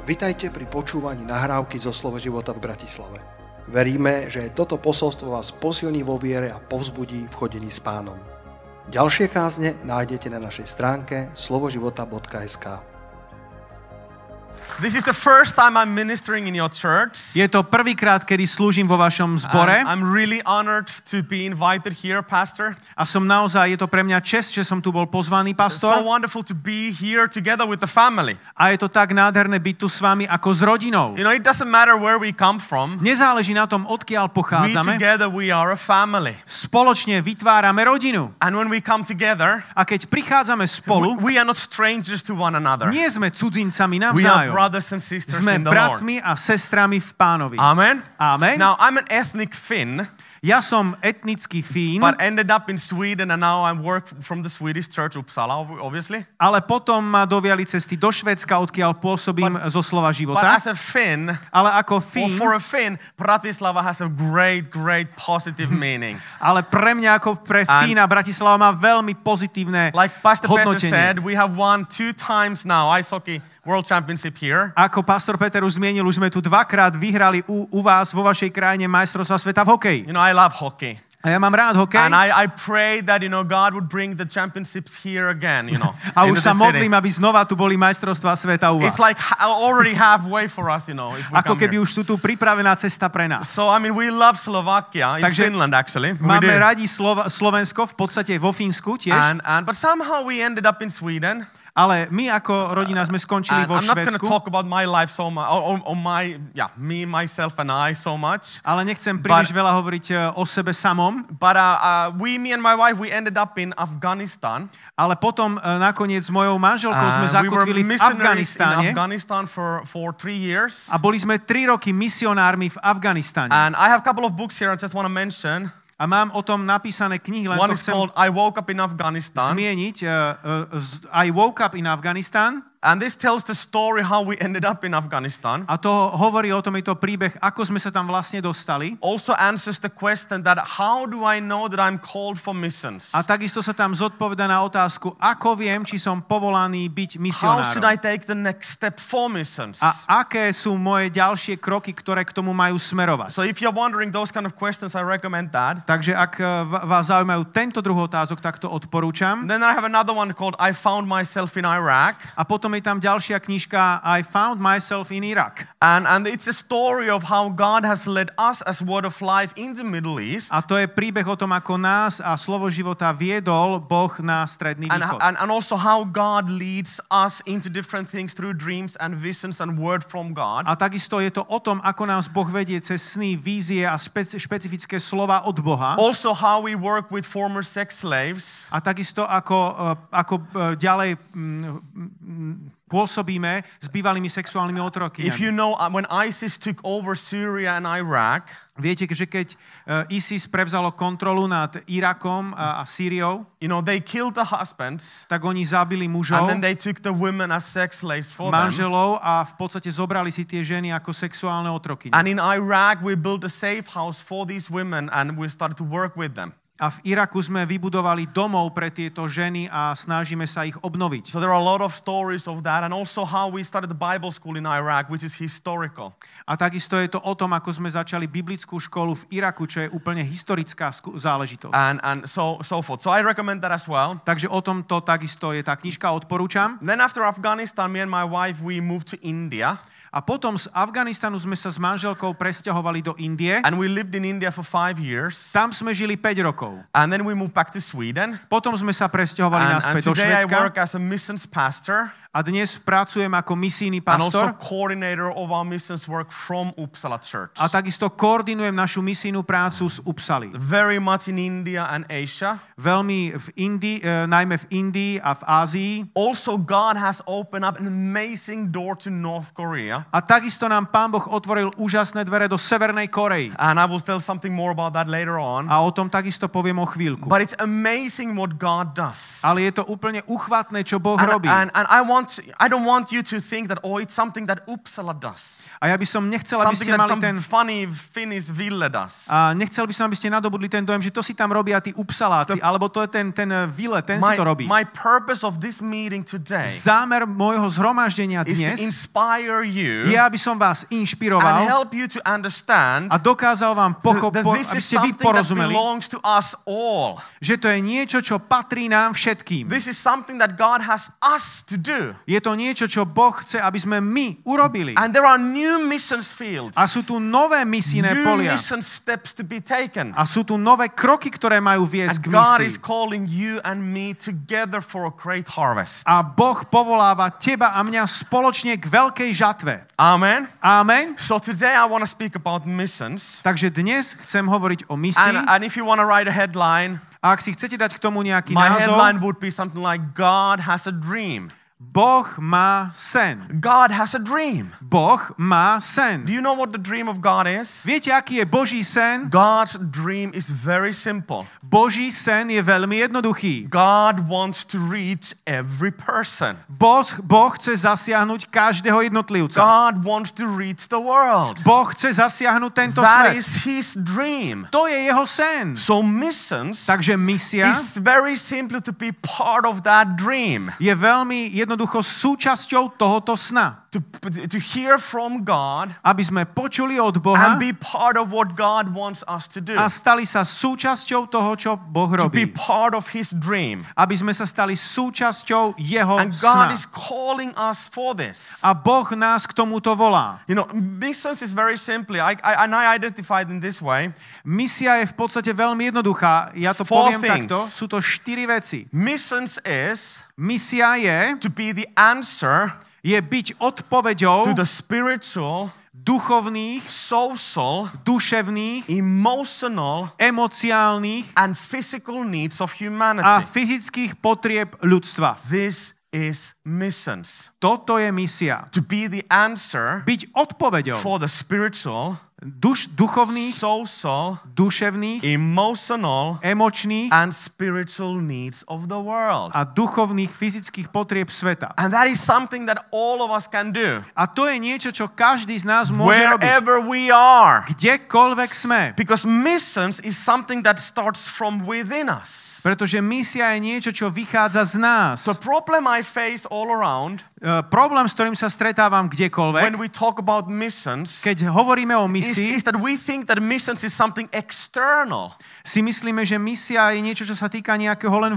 Vitajte pri počúvaní nahrávky zo Slovo života v Bratislave. Veríme, že toto posolstvo vás posilní vo viere a povzbudí v chodení s Pánom. Ďalšie kázne nájdete na našej stránke slovoživota.sk. This is the first time I'm ministering in your church. Je to prvýkrát, kedy slúžim vo vašom zbore. I'm really honored to be invited here, Pastor. A je to pre mňa česť, že som tu bol pozvaný, pastor. So wonderful to be here together with the family. A je to tak nádherné byť tu s vami ako s rodinou. You know, it doesn't matter where we come from. Nezáleží na tom, odkiaľ pochádzame. Together we are a family. Spoločne vytvárame rodinu. And when we come together, a keď prichádzame spolu, we are not strangers to one another. Nie sme cudzincami navzájom. Brothers and sisters sme in the bratmi a sestrami v Pánovi. Amen. Amen. Now I'm an ethnic Finn. Ja som etnický Fín. But ended up in Sweden and now I work from the Swedish church Uppsala, obviously. Ale potom ma doviali cesty do Švédska, odkiaľ pôsobím zo Slova života. But as a Finn, ale ako Fín, for a Finn, Bratislava has a great positive meaning. Ale pre mňa ako pre Fína Bratislava má veľmi pozitívne like Pastor hodnotenie. Peter said, we have won 2 times now ice hockey World Championship here. Ako pastor Peter už zmienil, už sme tu 2-krát vyhrali u vás vo vašej krajine majstrovstvá sveta v hokeji. You know, I love hockey. A ja mám rád hokej. And I pray that, you know, God would bring the championships here again, you know. A už sa modlím, aby znova tu boli majstrovstvá sveta u vás. It's like already halfway for us, you know, if we ako come keby here. už tu pripravená cesta pre nás. So, I mean, we love Slovakia, in Takže Finland actually. Máme radi Slovensko, v podstate vo Fínsku tiež. But somehow we ended up in Sweden. Ale my ako rodina sme skončili vo Švédsku. I'm not going to talk about my life so much, me, myself and I so much. Ale nechcem príliš veľa hovoriť o sebe samom. But me and my wife, we ended up in Afghanistan. Ale potom nakoniec s mojou manželkou sme zakotvili v Afganistáne. We were Afghanistan for 3 years. A boli sme 3 roky misionármi v Afganistáne. And I have a couple of books here I just want to mention. A mám o tom napísané knihy, len One to chcem called I Woke Up in Afghanistan. Zmieniť. I Woke Up in Afghanistan. And this tells the story how we ended up in Afghanistan. A to hovorí o tom, je to príbeh, ako sme sa tam vlastne dostali. Also answers the question that how do I know that I'm called for missions? A takisto sa tam zodpovedá na otázku, ako viem, či som povolaný byť misionárom. How should I take the next step for missions? A aké sú moje ďalšie kroky, ktoré k tomu majú smerovať? So if you're wondering those kind of questions, I recommend that. Takže ak vás zaujímajú tento druh otázok, tak to odporúčam. Then I have another one called I Found Myself in Iraq. A potom je tam ďalšia knižka I Found Myself in Iraq. And it's a story of how God has led us as Word of Life in the Middle East. A to je príbeh o tom, ako nás a Slovo života viedol Boh na Stredný východ. And also how God leads us into different things through dreams and visions and word from God. A takisto je to o tom, ako nás Boh vedie cez sny, vízie a špecifické slova od Boha. Also how we work with former sex slaves. A takisto ako ďalej pôsobíme s bývalými sexuálnymi otrokmi. If you know, when ISIS took over Syria and Iraq, viete, že keď ISIS prevzalo kontrolu nad Irakom a Sýriou, you know, they killed the husbands, tak oni zabili mužov, and then they took the women as sex slaves for manželov a v podstate zobrali si tie ženy ako sexuálne otroky. And in Iraq we built a safe house for these women and we started to work with them. A v Iraku sme vybudovali domov pre tieto ženy a snažíme sa ich obnoviť. So there are a lot of stories of that and also how we started the Bible school in Iraq, which is historical. A takisto je to o tom, ako sme začali biblickú školu v Iraku, čo je úplne historická záležitosť. And so forth. So I recommend that as well. Takže o tomto takisto je tá knižka, odporúčam. Then after Afghanistan, me and my wife, we moved to India. A potom z Afganistanu sme sa s manželkou presťahovali do Indie. And we lived in India for 5 years. Tam sme žili 5 rokov. And then we moved back to Sweden. Potom sme sa presťahovali naspäť do Švédska. And today I work as a missions pastor. A dnes pracujem ako misijný And pastor. also coordinator of our missions work from Uppsala Church. A takisto koordinujem našu misijnú prácu z Uppsaly. Very much in India and Asia. Veľmi v Indii, najmä v Indii a v Ázii. Also God has opened up an amazing door to North Korea. A takisto nám Pán Boh otvoril úžasné dvere do Severnej Korei. And I will tell something more about that later on. A o tom takisto poviem o chvíľku. But it's amazing what God does. Ale je to úplne uchvatné, čo Boh robí. And I don't want you to think that it's something that Uppsala does. A ja by som nechcel, aby ste mali ten funny Finnish Ville does. A nechcel by som, aby ste nadobudli ten dojem, že to si tam robia tí Uppsaláci, alebo to je ten Ville, ten si to robí. My purpose of this meeting today Zámer môjho zhromaždenia is to dnes inspire you you je, aby som vás and inšpiroval help you to understand a dokázal vám that this aby is ste vy something that porozumeli, belongs to us all. že to je niečo, čo patrí nám všetkým. This is something that God has us to do. Je to niečo, čo Boh chce, aby sme my urobili. And there are new missions fields, A sú tu nové misijné new polia. mission steps to be taken. A sú tu nové kroky, ktoré majú viesť And k God is misii. calling you and me together for a great harvest. A Boh povoláva teba a mňa spoločne k veľkej žatve. Amen. Amen. So today I want to speak about missions. Takže dnes chcem hovoriť o misii. And if you want to write a headline, A ak si chcete dať k tomu nejaký my názov, headline would be something like God has a dream. Boh má sen. God has a dream. Boh má sen. Do you know what the dream of God is? Viete, aký je Boží sen? God's dream is very simple. Boží sen je veľmi jednoduchý. God wants to reach every person. Boh chce zasiahnuť každého jednotlivca. God wants to reach the world. Boh chce zasiahnuť tento That svet. is his dream. To je jeho sen. So missions Takže misia is very simple to be part of that dream. je veľmi jednoducho súčasťou tohoto sna. To hear from God Aby sme počuli od Boha and be part of what God wants us to do. a stali sa súčasťou toho, čo Boh To be robí. part of his dream. Aby sme sa stali súčasťou jeho And God sna. is calling us for this. A Boh nás k tomuto volá. You know, missions is very simply, I identified in this way. Misia je v podstate veľmi jednoduchá. Ja to Four poviem things. takto. Sú to 4 veci. Missions is Misia je to be the answer byť odpoveďou to the spiritual, duchovných, social, duševných, emotional, emociálnych and physical needs of a humanity. fyzických potrieb ľudstva. This is missions. Toto je misia. To be the answer Byť odpoveďou for the spiritual, duchovných, social, duševných, emotional, emočných and spiritual needs of the world. a duchovných fyzických potrieb sveta. And that is something that all of us can do. A to je niečo, čo každý z nás môže robiť. Wherever we are. Kdekoľvek sme. Because missions is something that starts from within us. Pretože misia je niečo, čo vychádza z nás. The problem I face all around Problém, s ktorým sa stretávam when kdekoľvek, we talk about missions keď hovoríme o is misii, that we think that missions is something external. si myslíme, že misia je niečo, čo sa týka nejakého len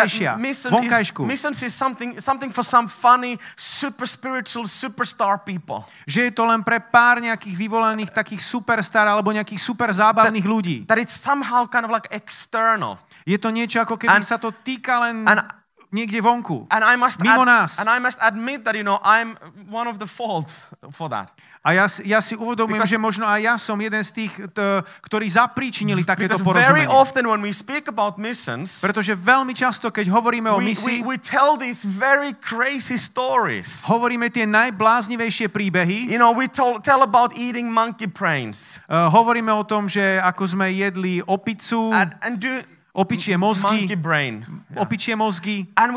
vonkajšku. Missions is something for some funny, super spiritual, superstar people. Že je to len pre pár nejakých vyvolených takých superstar alebo nejakých super zábavných ľudí. That it's somehow kind of like external. Je to niečo, ako keby sa to týka len niekde vonku. Mimo nás. And I must admit that, you know, I'm one of the fault for that. A ja si uvedomujem, že možno aj ja som jeden z tých, ktorí zapríčinili takéto Because very porozumenie. often when we speak about missions, Pretože veľmi často, keď hovoríme o misii, we tell these very crazy stories. hovoríme tie najbláznivejšie príbehy. You know, we tell about eating monkey brains. Hovoríme o tom, že ako sme jedli opicu, And do opičie mozgy, monkey brain. opičie mozgy And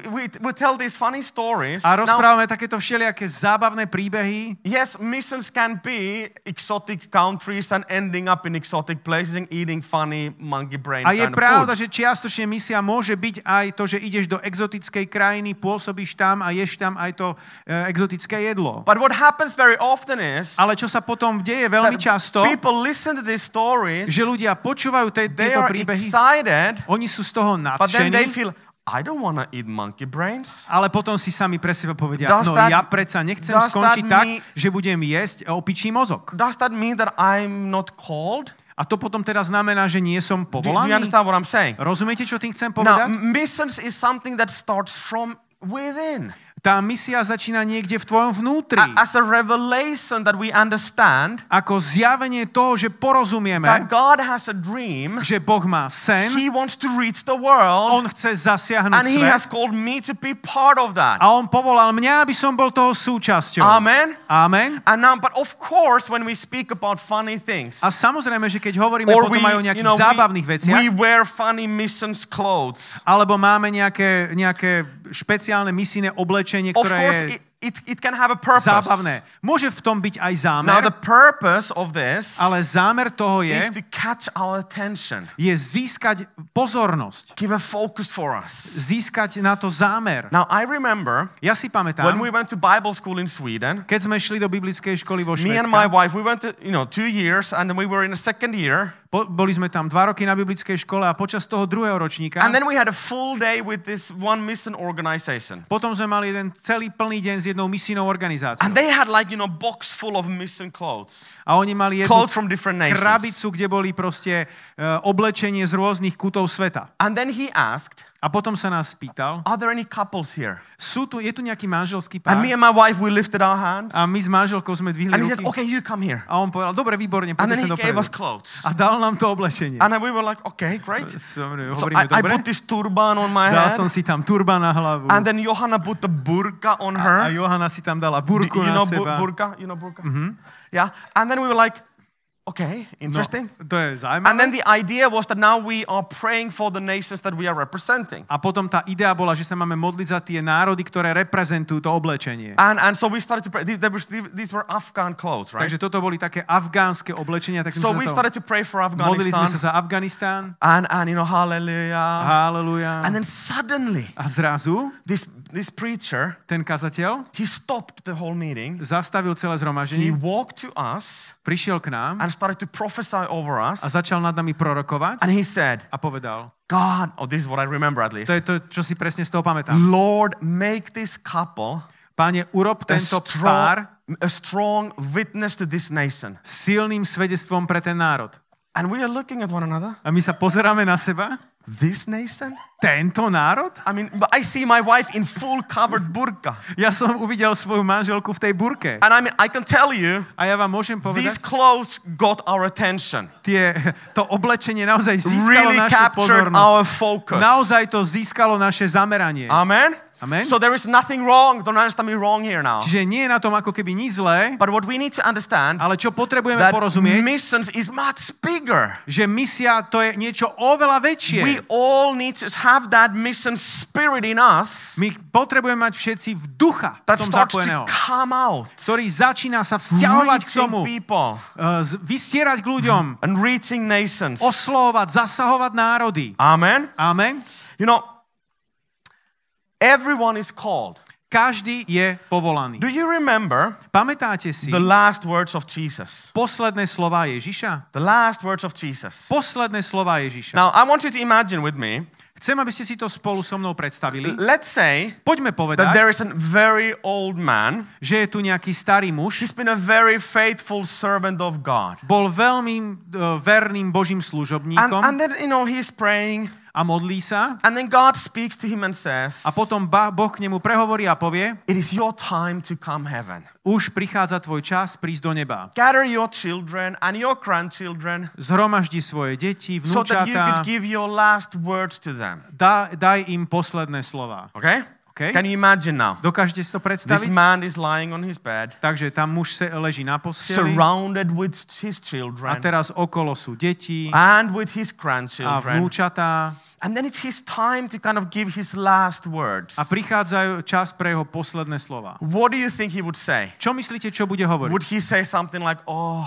we tell these funny stories. a Now, rozprávame takéto všelijaké zábavné príbehy. yes, missions can be exotic countries and ending up in exotic places and eating funny monkey brain A je kind of pravda, food. že čiastočne misia môže byť aj to, že ideš do exotickej krajiny, pôsobíš tam a ješ tam aj to exotické jedlo. But what happens very often is Ale čo sa potom deje veľmi that často, people listen to these stories, že ľudia počúvajú they tieto are príbehy, excited, oni sú z toho but then they nadšení, feel, I don't want to eat monkey brains. ale potom si sami pre seba povedia, Does no that- ja predsa nechcem does skončiť that tak, mean- že budem jesť opičí mozog. Does that mean that I'm not called? A to potom teda znamená, že nie som Do you povolaný? understand what I'm saying? Rozumiete, čo tým chcem Now, povedať? missions is something that starts from within. Tá misia začína niekde v tvojom vnútri. As a revelation that we understand Ako zjavenie toho, že porozumieme, that God has a dream, že Boh má sen, He wants to reach the world, on chce zasiahnuť and He has svet called me to be part of that. a on povolal mňa, aby som bol toho súčasťou. Amen. Amen. And now, but of course, when we speak about funny things, A samozrejme, že keď hovoríme or potom aj o nejakých zábavných we veciach, wear funny missions clothes. alebo máme nejaké špeciálne misijné oblečenie, Of ktoré course, je it can have a purpose. zábavné. Môže v tom byť aj Now zámer, the purpose of this ale zámer toho is je to catch our attention. získať pozornosť. Give a focus for us. Získať na to zámer. Now I remember Ja si when pamätám, we went to Bible school in Sweden, keď sme šli do biblickej školy vo me and my Švédsku, wife, we went to, 2 years and then we were in the second year. boli sme tam 2 roky na biblickej škole a počas toho druhého ročníka And then we had a full day with this one mission organization. potom sme mali jeden celý plný deň s jednou misijnou organizáciou. And they had box full of mission clothes. A oni mali jednu Clothes from different nations. krabicu, kde boli proste oblečenie z rôznych kútov sveta. And then he asked, A potom sa nás spýtal, are there any couples here? je tu nejaký manželský And pár? me and my wife, we lifted our hand. A my s manželkou sme dvihli And he said, ruky. okay, you come here. A on povedal, dobre, výborne, And then poďte he sa gave dopredu. us clothes. A dal nám to oblečenie. And then we were like, okay, great. So Hovoríme, I dobre. put this turban on my Dal head. som si tam turban na hlavu. And then Johanna put the burqa on A her. Johana si tam dala burku You na know seba. burqa? You know burqa? Yeah. And then we were like, okay, interesting. To je And zaujímavé. then the idea was that now we are praying for the nations that we are representing. A potom tá idea bola, že sa máme modliť za tie národy, ktoré reprezentujú to oblečenie. And so we started to pray. These were Afghan clothes, right? Takže toto boli také afgánske oblečenia. Tak So we started to pray for modlili sme sa Afghanistan. za Afganistán. And hallelujah. Haleluja. And then suddenly, A zrazu this preacher, ten kazateľ he stopped the whole meeting. zastavil celé He zhromaždenie, walked to us prišiel k nám and started to prophesy over us. a začal nad nami prorokovať And he said, a povedal, God, this is what I remember at least. to je to, čo si presne z toho pamätám. Lord, make this couple Páne, urob tento pár a strong witness to this nation. silným svedectvom pre ten národ. And we are looking at one another. A my sa pozeráme na seba. This nation? Tento národ? I mean, but I see my wife in full covered burqa. Ja som uvidel svoju manželku v tej burke. And I mean, I can tell you, A ja vám môžem these povedať, clothes got our attention. to oblečenie naozaj získalo Really našu captured pozornosť. our focus. Naozaj to získalo naše zameranie. Amen? Amen. So there is nothing wrong. Don't understand me wrong here now. Čiže nie je na tom ako keby nič zlé, But what we need to understand, ale čo potrebujeme that porozumieť, missions is much bigger. že misia to je niečo oveľa väčšie. We all need to have that mission spirit in us My potrebujeme mať všetci v ducha that v tom starts to zapojeného, come out, ktorý začína sa vzťahovať k reaching tomu, people vystierať k ľuďom, and reaching nations. oslovať, zasahovať národy. Amen? Amen. You know, everyone is called. Každý je povolaný. Do you remember Pamätáte si the last words of Jesus? posledné slová Ježiša? The last words of Jesus. Posledné slová Ježiša. Now, I want you to imagine with me, Chcem, aby ste si to spolu so mnou predstavili. let's say Poďme that povedať, there is a very old man. že je tu nejaký starý muž, He's been a very faithful servant of God. bol veľmi verným Božím služobníkom And then, he's praying, a modlí sa and then God speaks to him and says, a potom Boh k nemu prehovorí a povie, it is your time to come heaven. už prichádza tvoj čas prísť do neba. Gather your children and your grandchildren Zhromaždi svoje deti, so that you could vnúčatá, give your last words to them. daj im posledné slova. Okay? Okay? Can you imagine now? Dokážete si to This predstaviť? man is lying on his bed, Takže tam muž leží na posteli surrounded with his a children teraz okolo sú deti and with his a grandchildren. vnúčatá And then it's his time to kind of give his last words. a prichádzajú čas pre jeho posledné slova. What do you think he would say? Čo myslíte, čo bude hovoriť? Would he say something like, oh,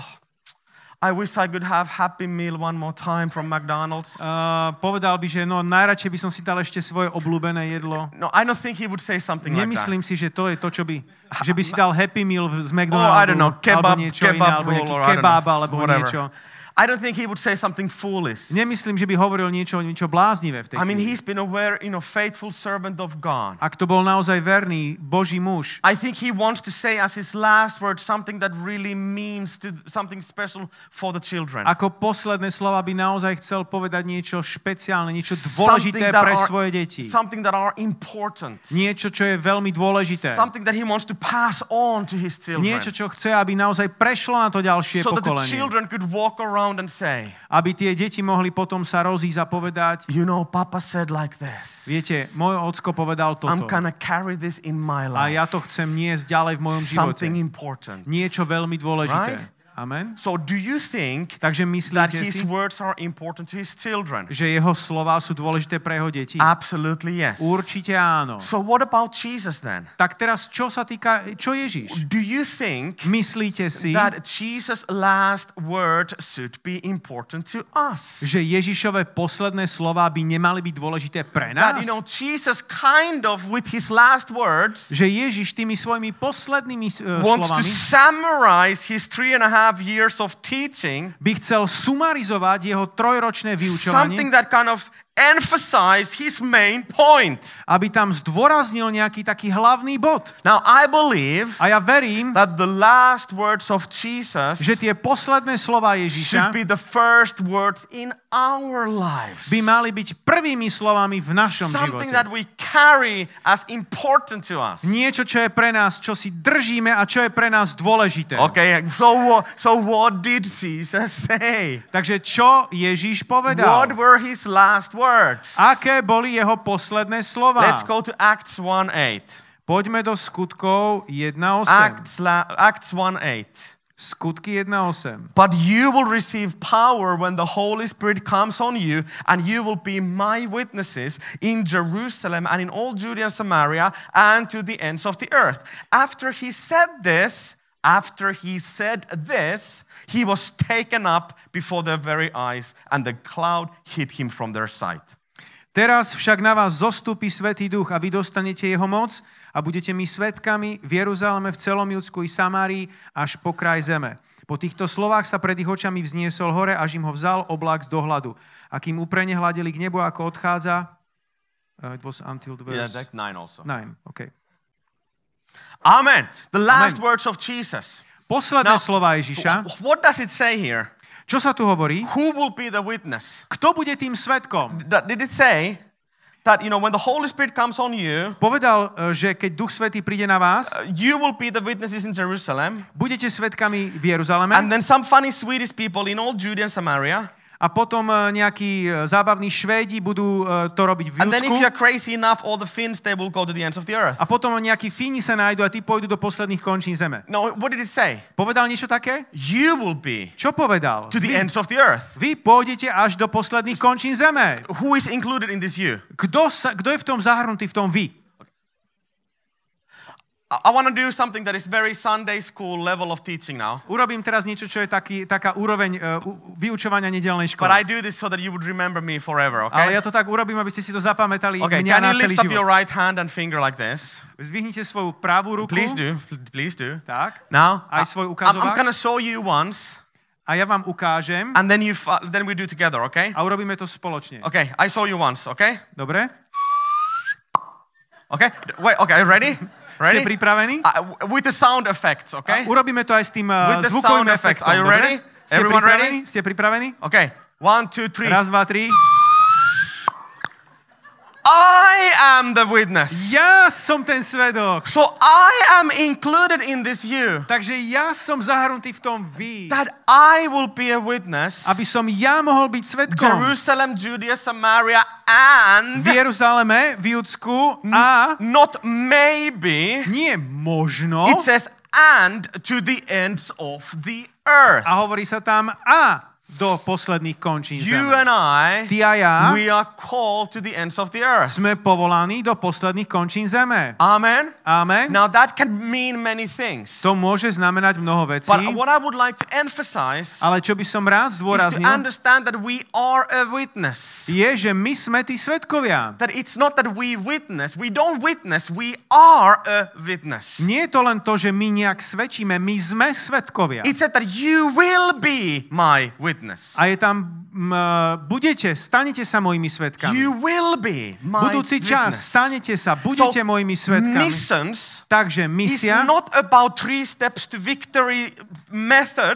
I wish I could have Happy Meal one more time from McDonald's? Povedal by, že najradšej by som si dal ešte svoje obľúbené jedlo. No, I don't think he would say something like that. Nemyslím si, že to je to, čo by... Že by si dal Happy Meal z Or McDonaldu, I don't know, alebo kebab, niečo iné, kebab alebo roll, nejaký or I don't kebab, know, alebo whatever. niečo. I don't think he would say something foolish. Nemyslím, že by hovoril niečo bláznivé v tej I mean, chvíli. he's been a faithful servant of God. Ak to bol naozaj verný Boží muž, I think he wants to say as his last word something that really means to something special for the children. ako posledné slova by naozaj chcel povedať niečo špeciálne, niečo dôležité pre svoje deti. Something that are important. Niečo, čo je veľmi dôležité. Something that he wants to pass on to his children. Niečo, čo chce, aby naozaj prešlo na to ďalšie So that the pokolenie. children could walk around and say, Aby tie deti mohli potom sa rozísť a povedať, you know, Papa said like this. viete, môj ocko povedal I'm toto. gonna carry this in my A life. ja to chcem niesť ďalej v mojom živote. Something important. Niečo veľmi dôležité. Right? Amen. So do you think Takže that myslíte his si, words are important to his children? že jeho slová sú dôležité pre jeho deti? Absolutely yes. Určite áno. So what about Jesus then? Tak teraz, čo sa týka, čo Ježiš? Do you think Myslíte si, that Jesus' last word should be important to us? že Ježišove posledné slová by nemali byť dôležité pre That, nás? Jesus kind of, with his last words, Že Ježiš tými svojimi poslednými wants to slovami summarize his 3.5 years of teaching, by chcel sumarizovať jeho trojročné something vyučovanie, that kind of emphasize his main point. aby tam zdôraznil nejaký taký hlavný bod. Now, I believe A ja verím, that the last words of Jesus že tie posledné slova should Ježiša be the first words in our lives. by mali byť prvými slovami v našom Something živote. that we carry as important to us. Niečo, čo je pre nás, čo si držíme a čo je pre nás dôležité. Okay, so what did Jesus say? Takže čo Ježiš povedal? What were his last words? Aké boli jeho posledné slova? Let's go to Acts 1:8. Poďme do skutkov 1.8. Acts 1:8. Skutky 1.8. But you will receive power when the Holy Spirit comes on you, and you will be my witnesses in Jerusalem and in all Judea and Samaria and to the ends of the earth. After he said this, he was taken up before their very eyes, and the cloud hid him from their sight. Teraz však na vás zostúpi Svätý Duch a vy dostanete jeho moc a budete mi svedkami v Jeruzaleme, v celom Judsku i Samárii až po kraj zeme. Po týchto slovách sa pred ich očami vzniesol hore, až im ho vzal oblak z dohľadu. A kým uprene hľadeli k nebu, ako odchádza... it was until the verse... Yeah, 9 also. 9, okay. Amen. The last Amen. words of Jesus. Posledné Now, slova Ježiša. What does it say here? Čo sa tu hovorí? Who will be the witness? Kto bude tým svedkom? Did it say that, when the Holy Spirit comes on you, Povedal, že keď Duch Svätý príde na vás, you will be the witnesses in Jerusalem, budete svedkami v Jeruzaleme and then some funny Swedish people in all Judea and Samaria, a potom nejakí zábavní Švédi budú to robiť v and then if Júdsku you're crazy enough, all the Finns, they will go to the ends of the earth. a potom nejakí Fíni sa nájdu a tí pôjdu do posledných končín zeme. No, what did it say? Povedal niečo také? You will be Čo povedal? to the ends of the earth. Vy pôjdete až do posledných končín zeme. Who is included in this you? Kto je v tom zahrnutý, v tom vy? I want to do something that is very Sunday school level of teaching now. Urobím teraz niečo, čo je taká úroveň vyučovania nedelnej But I školy. do this so that you would remember me forever, Ale okay? ja to tak urobím, aby ste si to zapamätali Okay, mňa can na you celý lift up your život. right hand and finger like this? Zdvihnite svoju pravú ruku. Please do. Please do. Tak. Now, Aj svoj I'm ukazovák. going to show you once, A ja vám ukážem and then then we do together, okay? a urobíme to spoločne. Okay, I show you once, okay? Dobre? Okay, wait, okay, ready? Ste Ready? pripravení? With the sound effects, okay? Urobíme to aj s tým With the zvukovým sound effects. efektom. Are you Dobre? ready? Ste Everyone pripravení? ready? Ste pripravení? Okay, 1, 2, 3. Raz, dva, tri. I am the witness. Ja som ten svedok. So I am included in this you. Takže ja som zahrnutý v tom vy. That I will be a witness. Aby som ja mohol byť svedkom. Jerusalem, Judea, Samaria, and V Jeruzaleme, v Judsku a not maybe. nie možno. It says and to the ends of the earth. A hovorí sa tam a do posledných končín You zeme. and I, Ty a ja we are called to the ends of the earth. sme povolaní do posledných končín zeme. Amen. Amen. Now that can mean many things. To môže znamenať mnoho vecí, But what I would like to emphasize ale čo by som rád is to zdôraznil, understand that we are a witness. je, že my sme tí svedkovia. That it's not that we witness. We don't witness. We are a witness. Nie je to len to, že my nejak svedčíme, my sme svedkovia. It said that you will be my witness. A je tam, stanete sa mojimi svedkami. You will be my Budúci čas, witness. stanete sa, budete mojimi svedkami. Missions Takže is misia not about 3 steps to victory methods.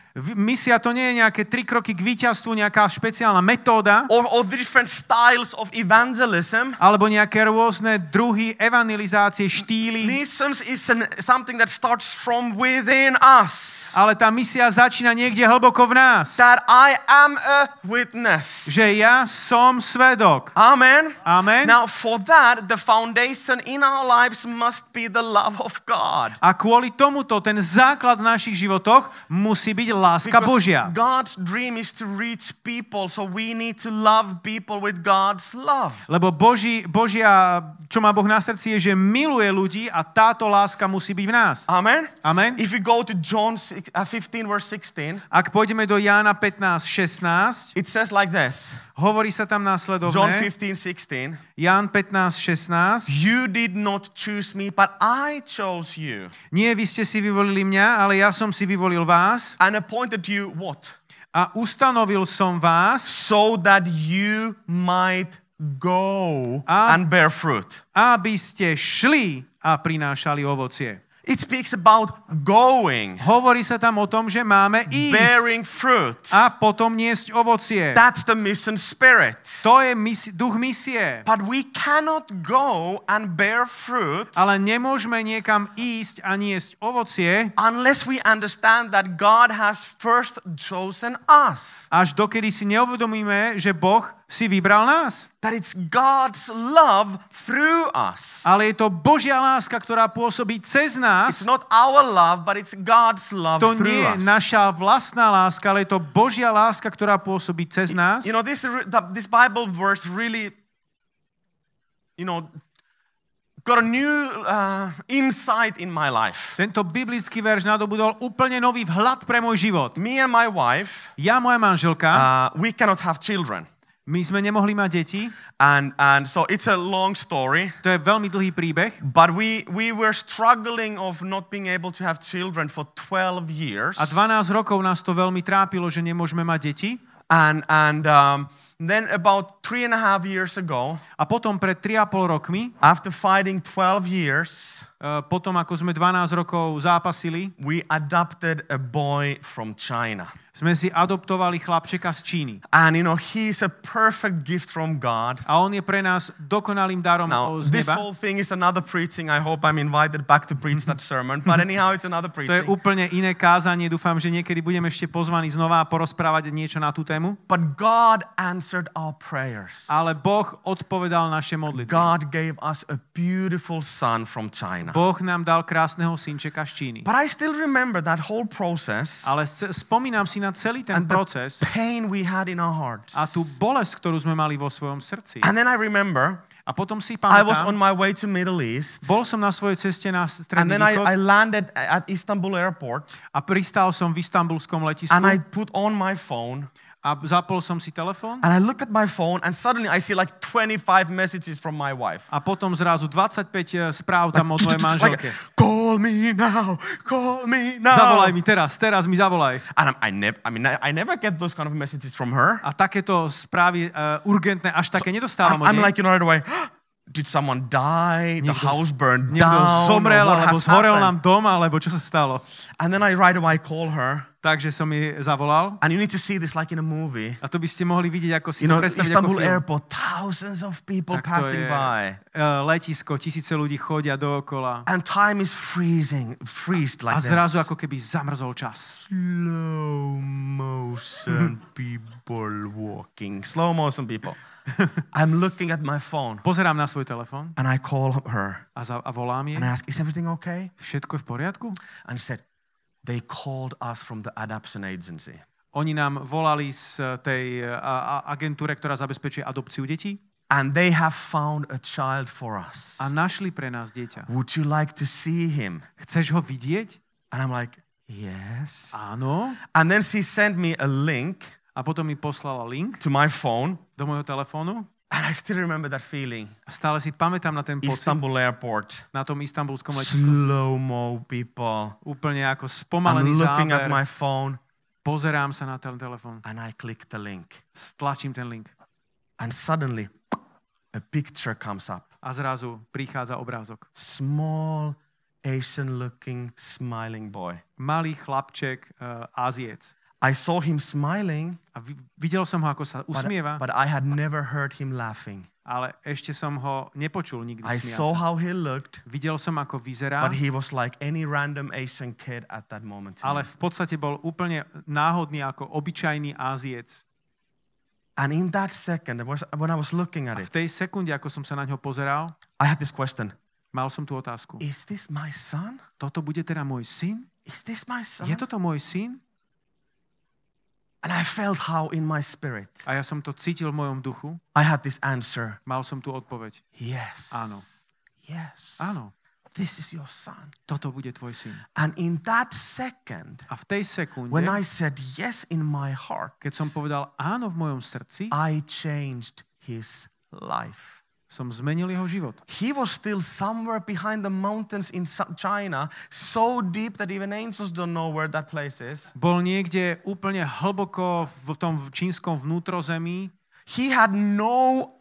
Misia to nie je nejaké 3 kroky k víťazstvu, nejaká špeciálna metóda, or different styles of evangelism. alebo nejaké rôzne druhy evangelizácie, štýly. Missions is something that starts from within us. Ale tá misia začína niekde hlboko v nás. That I am a witness. Že ja som svedok. Amen. Amen. Now for that, the foundation in our lives must be the love of God. A kvôli tomuto ten základ v našich životoch musí byť láska Božia. God's dream is to reach people, so we need to love people with God's love. Lebo Božia, čo má Boh na srdci, je, že miluje ľudí a táto láska musí byť v nás. Amen. Amen. If we go to John 15 verse 16, Ak pôjdeme do Jána 15:16, it says like this. hovorí sa tam John následovné. 15:16. Ján 15:16. You did not choose me, but I chose you. Nie, vy ste si vyvolili mňa, ale ja som si vyvolil vás And appointed you what? a ustanovil som vás, So that you might go A- and bear fruit. aby ste šli a prinášali ovocie. It speaks about going, Hovorí sa tam o tom, že máme ísť bearing fruit. a potom niesť ovocie. That's the mission spirit. To je duch misie. But we cannot go and bear fruit Ale nemôžeme niekam ísť a niesť ovocie, unless we understand that God has first chosen us. až dokedy si neuvedomíme, že Boh si vybral nás. That it's God's love through us. Ale je to Božia láska, ktorá pôsobí cez nás. It's not our love, but it's God's love To through nie je us. naša vlastná láska, ale je to Božia láska, ktorá pôsobí cez nás. You know, this Bible verse really, got a new insight in my life. Tento biblický verš nadobudol úplne nový vhľad pre môj život. Me and my wife, Ja, moja manželka, we cannot have children. my sme nemohli mať deti. And so it's a long story. To je veľmi dlhý príbeh. But we were struggling of not being able to have children for 12 years. A 12 rokov nás to veľmi trápilo, že nemôžeme mať deti. And then about 3.5 years ago, A potom pred 3,5 rokmi, after fighting 12 years, potom ako sme 12 rokov zápasili, we adopted a boy from China. sme si adoptovali chlapčeka z Číny. And he's a perfect gift from God. A on je pre nás dokonalým darom Now, z this neba. whole thing is another preaching. I hope I'm invited back to preach that sermon. But anyhow, it's another To je preaching. úplne iné kázanie. Dúfam, že niekedy budeme ešte pozvaní znova porozprávať niečo na tú tému. But God answered our prayers. Ale Boh odpovedal naše modlitby. God gave us a beautiful son from China. Boh nám dal krásneho synčeka z Číny. But I still remember that whole process Ale spomínam si na celý ten and the proces pain we had in our hearts. a tú bolesť, ktorú sme mali vo svojom srdci. And then I remember A potom si I was pamätám, on my way to Middle East. bol som na svojej ceste na And stredný then východ I landed at Istanbul airport a pristál som v istanbulskom letisku and I put on my phone a zapol som si telefón and I look at my phone and suddenly I see like 25 messages from my wife. a potom zrazu 25 správ tam od mojej manželke. Call me now, call me now. Zavolaj mi teraz mi zavolaj. And I never get those kind of messages from her. A takéto správy urgentné až také nedostávam od I'm nej. like, right away, did someone die? The house burned Niekto down? zomrel, Or what alebo has zhorel happened? nám dom, alebo čo sa stalo. And then I right away call her. Takže som jej zavolal. And you need to see this like in a movie. A to by ste mohli vidieť, ako si You to know, predstaviť ako Istanbul film. airport, thousands of people Tak to passing je by. letisko, tisíce ľudí chodia dookola. And time is freezed A like zrazu this. ako keby zamrzol čas. Slow motion people walking. Slow motion people. I'm looking at my phone Pozerám na svoj telefón and I call her a volám jej. and I ask, is everything okay? Všetko je v poriadku? And she said, they called us from the adoption agency. Oni nám volali z tej agentúre, ktorá zabezpečuje adopciu detí And they have found a child for us. a našli pre nás dieťa. Would you like to see him? Chceš ho vidieť? And I'm like, yes. Áno. And then she sent me a link A potom mi poslala link to my phone. do môjho telefónu. And I still remember that feeling. A stále si pamätám na ten pocit Istanbul airport. na tom istanbulskom letisku. Slow-mo people. Úplne ako I'm spomalený looking at záber. my phone Pozerám sa na ten telefón. and I click the link. Stlačím ten link. And suddenly a picture comes up. A zrazu prichádza obrázok. Small, Asian-looking, smiling boy. Malý chlapček, Áziec. I saw him smiling, a videl som ho, ako sa usmieva, but I had never heard him laughing. ale ešte som ho nepočul nikdy I smiať saw sa. how he looked, Videl som, ako vyzerá, but he was like any random Asian kid at that moment. ale v podstate bol úplne náhodný ako obyčajný Áziec. And in that second, when I was looking at A it, v tej sekunde, ako som sa na ňo pozeral, I had this question. mal som tú otázku. Is this my son? Toto bude teda môj syn? Is this my son? Je toto môj syn? And I felt how in my spirit, A ja som to cítil v mojom duchu. I had this answer. Mal som tú odpoveď. Yes. Áno. Yes. Áno. This is your son. Toto bude tvoj syn. And in that second, A v tej sekunde, when I said yes in my heart, keď som povedal áno v mojom srdci, I changed his life. som zmenil jeho život. He was still somewhere behind the mountains in China, so deep that even angels don't know where that place is. Bol niekde úplne hlboko v tom čínskom vnútrozemí He had no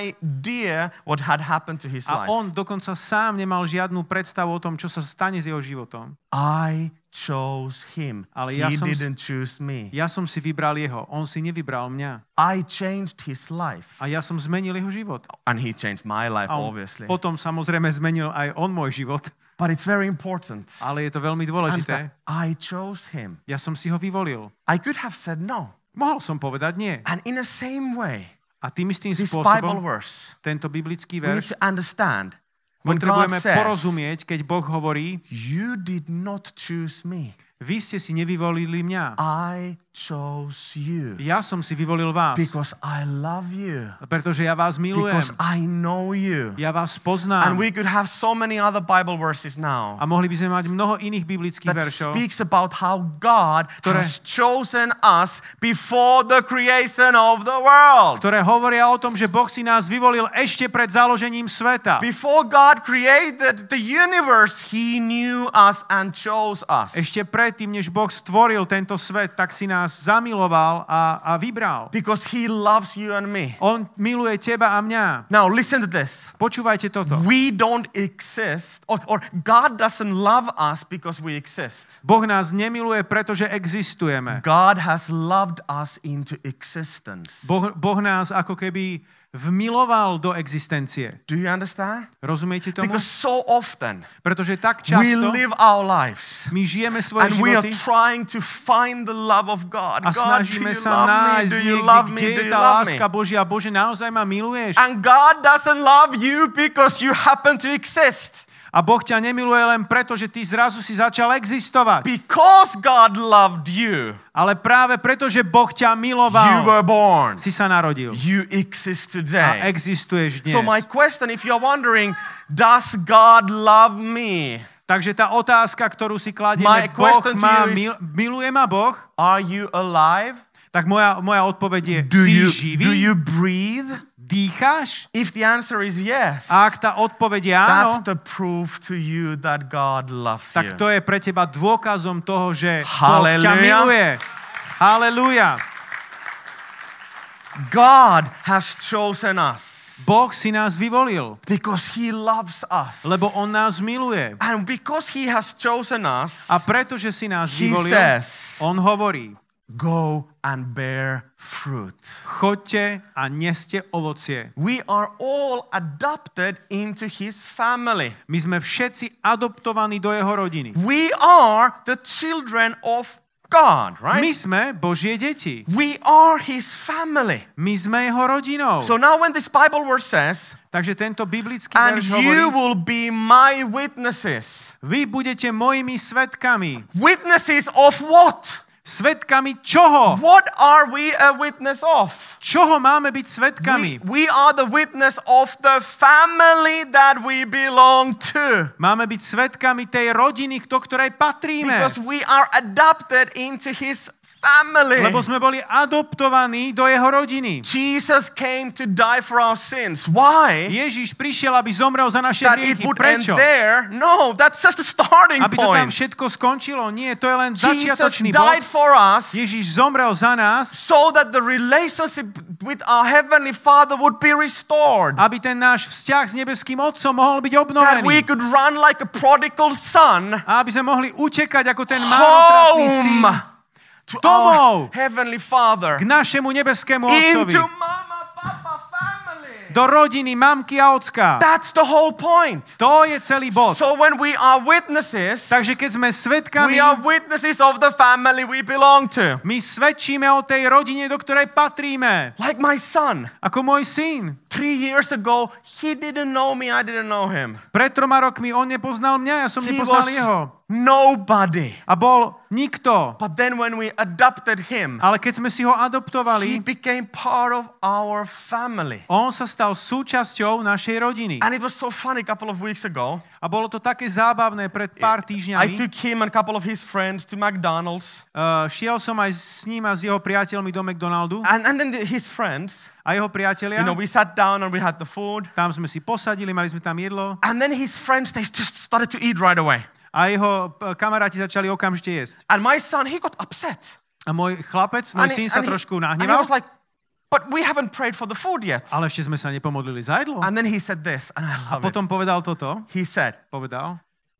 idea what had happened to his a life. on dokonca sám nemal žiadnu predstavu o tom, čo sa stane s jeho životom. I chose him. Ale He ja som didn't choose me. Ja som si vybral jeho, on si nevybral mňa. I changed his life. A ja som zmenil jeho život. And he changed my life, A on obviously. potom samozrejme zmenil aj on môj život. But it's very important. Ale je to veľmi And dôležité. that I chose him. Ja som si ho vyvolil. I could have said no. Mohol som povedať nie. And in the same way, A tým istým this Bible spôsobom verse, tento biblický we need verš to understand when God potrebujeme says, porozumieť, keď Boh hovorí, you did not choose me. vy ste si nevyvolili mňa. I chose you Ja som si vyvolil vás. because I love you, Pretože ja vás milujem. because I know you. Ja vás And poznám. we could have so many other Bible verses now A mohli by sme mať mnoho iných biblických that veršov, speaks about how God ktoré- has chosen us before the creation of the world. ktoré hovoria o tom, že Boh si nás vyvolil ešte pred založením sveta. Before God created the universe, He knew us and chose us. Ešte predtým, než Boh stvoril tento svet, tak si nás zamiloval a vybral. Because He loves you and me. On miluje teba a mňa. Now listen to this. Počúvajte toto. We don't exist, or God doesn't love us because we exist. Boh nás nemiluje, pretože existujeme. God has loved us into existence. Boh nás ako keby vmiloval do existencie. Do you understand? Rozumiete tomu? Because so often Pretože tak we často live our lives my žijeme svoje and we are životy trying to find the love of God. a God, do snažíme you sa love me? nájsť Do you niekde, love me? kde Do je you tá love me? láska Božia. Bože, naozaj ma miluješ? And God doesn't love you because you happen to exist. A Boh ťa nemiluje len preto, že ty zrazu si začal existovať. Because God loved you, Ale práve preto, že Boh ťa you miloval, were born. si sa narodil. You exist A today. existuješ dnes. So my question, if you're wondering, does God love me? Takže tá otázka, ktorú si My kladieme, Boh question to má, you is- miluje ma Boh? Are you alive? Tak moja odpoveď je, Do si you živý? breathe? Dýcháš? If the answer is yes, A ak tá odpoveď je áno, that's the proof to you that God loves tak you. to je pre teba dôkazom toho, že Boh ťa Hallelujah. miluje. Halelúja. God has chosen us Boh si nás vyvolil, because He loves us. lebo On nás miluje. And because He has chosen us, A pretože si nás He vyvolil, says, On hovorí, go and bear fruit. choďte a neste ovocie. We are all adopted into His family. My sme všetci adoptovaní do jeho rodiny. We are the children of God, right? My sme Božie deti. We are His family. My sme jeho rodinou. So now when this Bible verse says, Takže tento biblický and verš you hovorí, will be my witnesses. vy budete mojimi svedkami. Witnesses of what? Svedkami čoho? What are we a witness of? Čoho máme byť svedkami? We are the witness of the family that we belong to. Máme byť svedkami tej rodiny, do ktorej patríme. Because we are adopted into His family. Lebo sme boli adoptovaní do jeho rodiny. Jesus came to die for our sins. Why? Ježiš prišiel, aby zomrel za naše That it hriechy. would end Prečo? there? No, that's just the starting Aby to tam point. všetko skončilo? Nie, to je len Jesus začiatočný died bod. for us Ježiš zomrel za nás, so that the relationship with our Heavenly Father would be restored. aby ten náš vzťah s nebeským Otcom mohol byť That obnovený. we could run like a prodigal son A aby sme mohli utekať ako ten marnotratný syn home domov, Heavenly Father, k našemu nebeskému Otcovi, into Mama, Papa family. do rodiny mamky a ocka. That's the whole point. To je celý bod. So when we are witnesses, Takže keď sme svedkami, we are witnesses of the family we belong to. my svedčíme o tej rodine, do ktorej patríme. Like my son. Ako môj syn. 3 years ago, he didn't know me, I didn't know him. Pred 3 rokmi on nepoznal mňa, ja som He nepoznal was jeho. nobody. A bol nikto. But then when we adopted him, Ale keď sme si ho he adoptovali, became part of our family. on sa stal súčasťou našej rodiny. And it was so funny a couple of weeks ago. A bolo to také zábavné pred pár I týždňami. took him and a couple of his friends to McDonald's. Šiel som aj s ním a s jeho priateľmi do McDonaldu. And then his friends, A jeho priatelia, we sat down and we had the food. tam sme si posadili, mali sme tam jedlo. And then his friends, they just started to eat right away. A jeho kamaráti začali okamžite jesť. And my son, he got upset. A môj chlapec, môj syn sa trošku and he nahneval. was like, but we haven't prayed for the food yet. Ale ešte sme sa nepomodlili za jedlo. And then he said this, and I A love potom it. povedal toto. He said, Povedal,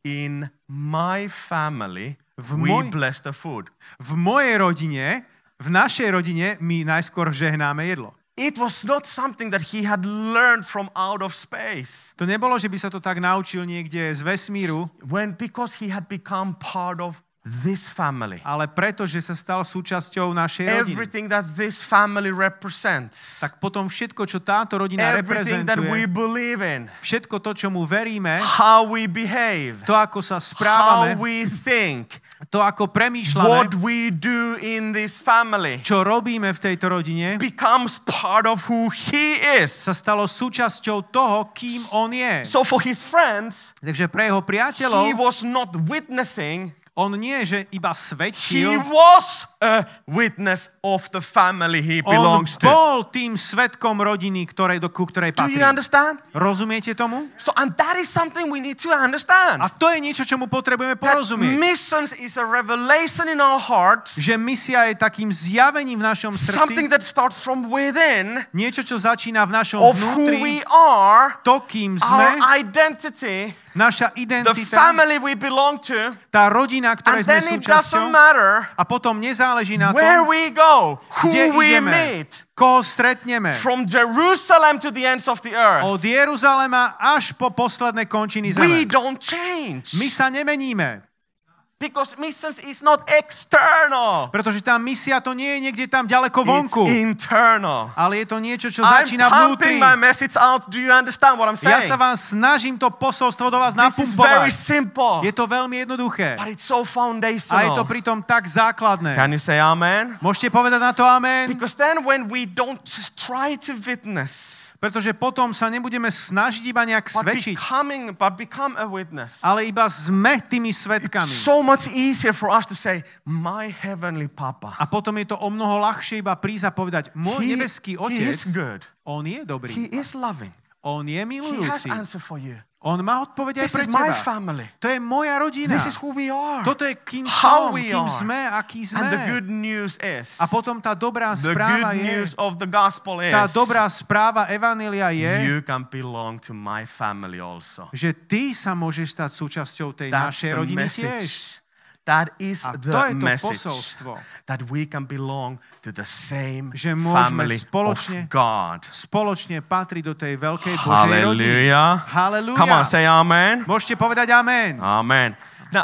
in my family, V we moj- bless the food. v mojej rodine, v našej rodine, my najskôr žehnáme jedlo. It was not something that he had learned from out of space. To nebolo, že by sa to tak naučil niekde z vesmíru, Because he had become part of this family. ale preto, že sa stal súčasťou našej rodiny. Everything that this family represents. Tak potom všetko, čo táto rodina Everything that we reprezentuje, believe in. všetko to, čo mu veríme, How we behave. to, ako sa How správame, we think. to, ako What premýšľame, we do in this family čo robíme v tejto rodine, becomes part of who he sa is. stalo súčasťou toho, kým on je. So for his friends, Takže pre jeho he priateľov, was not witnessing, on nie, že iba he svedčil, was a witness of the family he on belongs to. bol tým svedkom rodiny, ku ktorej Do you patrí. understand? Rozumiete tomu? So, and that is something we need to understand. A to je niečo, čomu potrebujeme That porozumieť. missions is a revelation in our hearts, Že misia je takým zjavením v našom something srdci, that starts from within niečo, čo začína v našom of who we vnútri, are, to, kým our sme, identity, naša the identita, family we belong to, tá rodina, ktorej and sme then it doesn't súčasťou, matter a potom nezáleží na where tom, we go, kde who we ideme, meet, koho stretneme. from Jerusalem to the ends of the earth. Od Jeruzalema až po posledné končiny We zeme. don't change. My sa nemeníme, Because missions is not external. pretože tá misia to nie je niekde tam ďaleko It's vonku, internal. ale je to niečo, čo I'm začína pumping vnútri. my message out. Do you understand what I'm Ja saying? sa vám snažím to posolstvo do vás This is very napumpovať. simple. Je to veľmi jednoduché. But it's so A je to foundational. pritom tak základné. Can you say amen? Môžete povedať na to amen? Because then when we don't just try to witness, Pretože potom sa nebudeme snažiť iba nejak but svedčiť, become a witness, ale iba sme tými svedkami. so much easier for us to say, my heavenly Papa, A potom je to o mnoho ľahšie iba prísť a povedať, môj nebeský he is Otec, good. on je He dobrý, is loving. on je He has milujúci, answer for you. on má odpoveď aj This pre is my teba. family. To je moja rodina. This is who we are. Toto je kým How som, we kým are. sme, aký And the sme. good news is, A potom tá dobrá the správa good je, news of the gospel is, tá dobrá správa Evanjelia je, you can belong to my family also. že ty sa môžeš stať súčasťou tej That's našej the rodiny tiež. message. That is A to the je to message. posolstvo, That we can belong to the same že môžeme family spoločne- of God. spoločne patriť do tej veľkej Božej rodiny. Hallelujah. Halelúja. Come on, say amen. Môžete povedať amen. Amen. Now,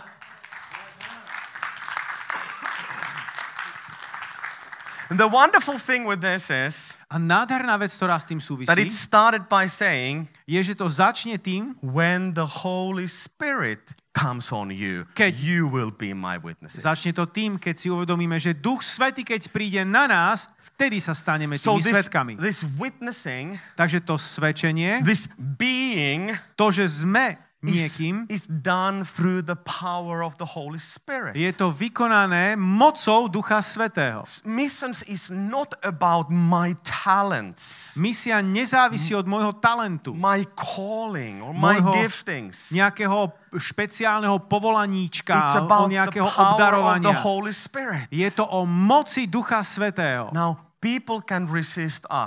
the wonderful thing with this is A nádherná vec, ktorá s tým súvisí, that it started by saying, je, že to začne tým, when the Holy Spirit comes on you, Keď- you will be my witnesses. začne to tým, keď si uvedomíme, že Duch Svätý, keď príde na nás, vtedy sa staneme So tými svetkami. this witnessing, Takže to svedčenie, this being to, že sme niekým, is done through the power of the Holy Spirit. je to vykonané mocou Ducha Svätého. Missions is not about my talents, Misia nezávisí od môjho talentu, my calling, or my Môjho giftings. nejakého špeciálneho povolaníčka, It's o about the nejakého power of the obdarovania. Holy Spirit. Je to o moci Ducha Svätého. Now, people can resist us.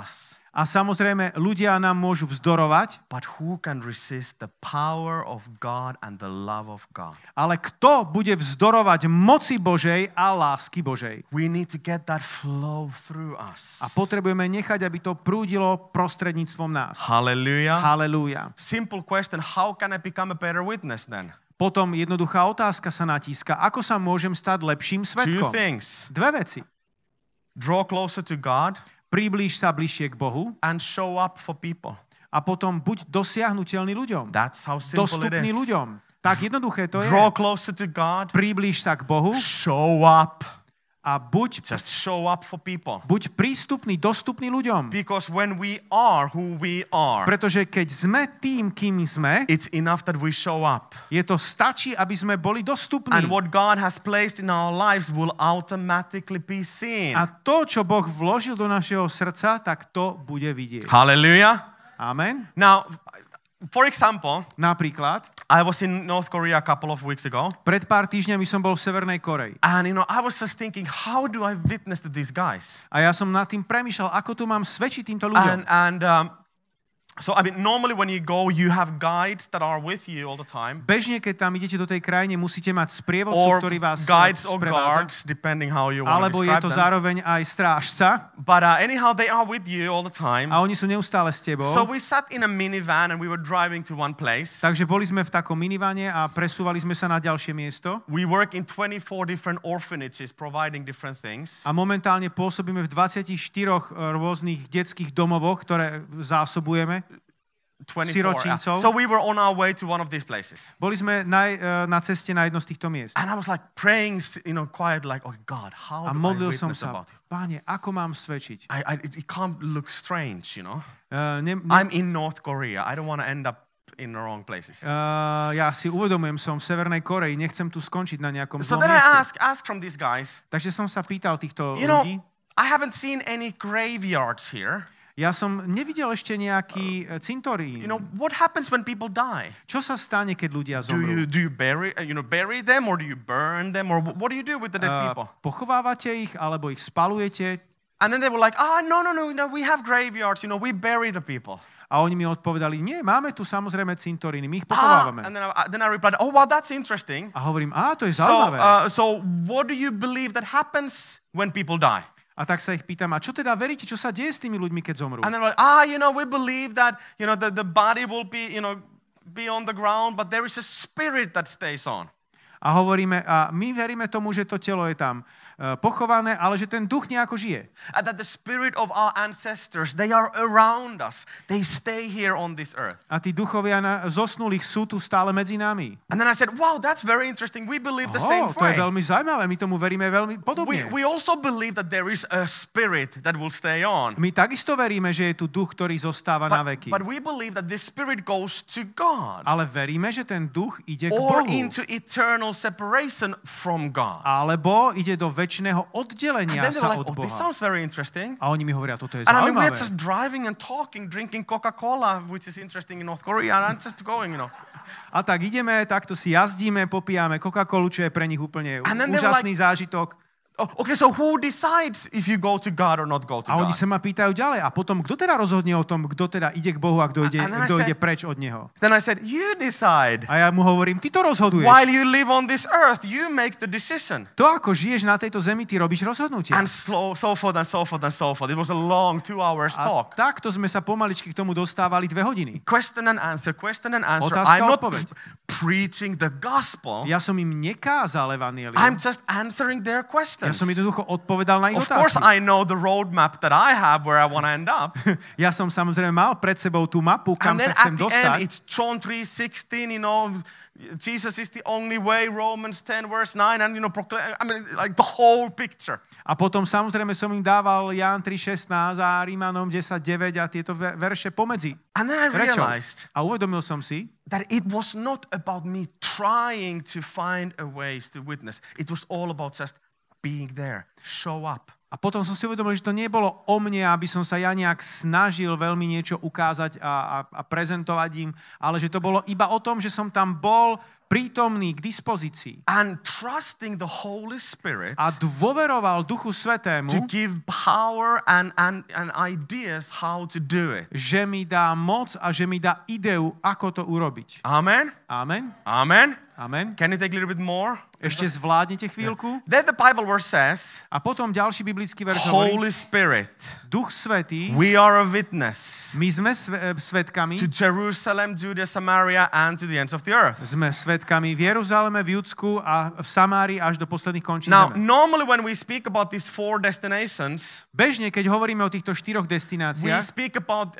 A samozrejme, ľudia nám môžu vzdorovať, but who can resist the power of God and the love of God? ale kto bude vzdorovať moci Božej a lásky Božej? We need to get that flow through us. A potrebujeme nechať, aby to prúdilo prostredníctvom nás. Hallelujah. Halelúja. Simple question, how can I become a better witness then? Potom jednoduchá otázka sa natíska. Ako sa môžem stať lepším Two svedkom? things. Dve veci. Draw closer to God Priblíž sa bližšie k Bohu and show up for people. a potom buď dosiahnuteľný ľuďom. That's how simple it Dostupný is. ľuďom. Tak jednoduché to je. Draw closer to God, Priblíž sa k Bohu show up. a buď Just show up for people. prístupný, dostupný ľuďom. Because when we are who we are, Pretože keď sme tým, kým sme, it's enough that we show up. je to stačí, aby sme boli dostupní. And what God has placed in our lives will automatically be seen. A to, čo Boh vložil do našeho srdca, tak to bude vidieť. Hallelujah. Amen. Now, for example, Napríklad, I was in North Korea a couple of weeks ago. pred pár týždňami som bol v Severnej Koreji. And, I was just thinking, how do I witness to these guys? A ja som nad tým premýšľal, ako tu mám svedčiť týmto ľuďom. So, normally when you go, you have guides that are with you all the time. Bežne, keď tam idete do tej krajine, musíte mať sprievodcu, Or ktorý vás guides or sprevádza. guards, depending how you want to Alebo je describe to them. zároveň aj strážca. But anyhow, they are with you all the time. A oni sú neustále s tebou. So we sat in a minivan and we were driving to one place. Takže boli sme v takom minivane a presúvali sme sa na ďalšie miesto. We work in 24 different orphanages providing different things. A momentálne pôsobíme v 24 rôznych detských domovoch, ktoré zásobujeme. 24. Siročincov. So we were on our way to one of these places. Boli sme na ceste na jedno z týchto miest. And I was like praying, quiet, like, oh God, how A do I modlil som witness sa, about it? Páne, ako mám svedčiť? It can't look strange, I'm I'm in North Korea. I don't want to end up in the wrong places. Ja si uvedomujem, som v Severnej Koreji, nechcem tu skončiť na nejakom So zlom then I mieste. asked from these guys, Takže som sa pýtal týchto you know, ľudí. I haven't seen any graveyards here. Ja som nevidel ešte nejaký cintorín. What happens when people die? Čo sa stane, keď ľudia Do zomrú? you bury them, or do you burn them, or what do you do with the dead people? Pochovávate ich, alebo ich spalujete? And then they were like, no, we have graveyards, we bury the people. A oni mi odpovedali, nie, máme tu samozrejme cintoríny, my ich pochovávame. And then I replied, oh, well, that's interesting. A hovorím, to je zaujímavé. So what do you believe that happens when people die? A tak sa ich pýtam, a čo teda veríte, čo sa deje s tými ľuďmi, keď zomrú? And then like, we believe that, the body will be, be on the ground, but there is a spirit that stays on. A hovoríme, a my veríme tomu, že to telo je tam pochované, ale že ten duch nejako žije. And that the spirit of our ancestors, they are around us. They stay here on this earth. A tí duchovia zosnulých sú tu stále medzi nami. And then I said, wow, that's very interesting. We believe the same To je way. veľmi zaujímavé, my tomu veríme veľmi podobne. We also believe that there is a spirit that will stay on. My takisto veríme, že je tu duch, ktorý zostáva na veky. But we believe that this spirit goes to God. Ale veríme, že ten duch ide k Or Bohu. into eternal separation from God. Alebo ide do večného oddelenia And then they were sa like, od this Boha. sounds very interesting. A oni mi hovoria, toto je And I mean, we're zaujímavé. just driving and talking, drinking Coca-Cola, which is interesting in North Korea, and I'm just going, A tak ideme, takto si jazdíme, popíjame Coca-Colu, čo je pre nich úplne And then they were úžasný zážitok. Okay, so who decides if you go to God or not go to A oni God? sa ma pýtajú ďalej. A potom, kto teda rozhodne o tom, kto teda ide k Bohu a kto ide, And then I kto said- ide preč od Neho? Then I said, you decide. A ja mu hovorím, ty to rozhoduješ. While you live on this earth, you make the decision. To, ako žiješ na tejto zemi, ty robíš rozhodnutie. And so forth and so forth and so forth. It was a long 2 hours A talk. takto sme sa pomaličky k tomu dostávali 2 hodiny. Question and answer, question and answer. Otázka, I'm not odpoveď. preaching the gospel. Ja som im nekázal evanjelium. I'm just answering their Ja questions. som jednoducho odpovedal na ich Of course, otázky. I know the roadmap that I have where I want to end up. Ja som samozrejme mal pred sebou tú mapu, kam And sa then chcem at the end, dostať. it's John 3:16, Jesus is the only way, Romans 10 verse 9, and proclaim, like the whole picture. A potom samozrejme som im dával Ján 3.16 a Rímanom 10.9 a tieto verše pomedzi. And then I Prečo? realized A uvedomil som si, that it was not about me trying to find a ways to witness. It was all about just being there, show up. a potom som si uvedomil, že to nebolo o mne, aby som sa ja nejak snažil veľmi niečo ukázať a prezentovať im, ale že to bolo iba o tom, že som tam bol, prítomný k dispozícii and trusting the Holy Spirit a dôveroval Duchu to Svätému, give power and ideas how to do it. že mi dá moc a že mi dá ideu, ako to urobiť. Amen? Amen. Amen? Amen. Can you take a little bit more? Ešte zvládnete chvíľku. Then the Bible verse says, A potom ďalší biblický verš hovorí, Holy Spirit, Duch Svätý, we are a witness my sme svedkami, to Jerusalem, Judea, Samaria, and to the ends of the earth. sme svedkami v Jeruzaleme, v Judsku a v Samárii až do posledných končín Now, zeme. normally when we speak about these 4 destinations, Bežne, keď hovoríme o týchto 4 we destináciách, speak about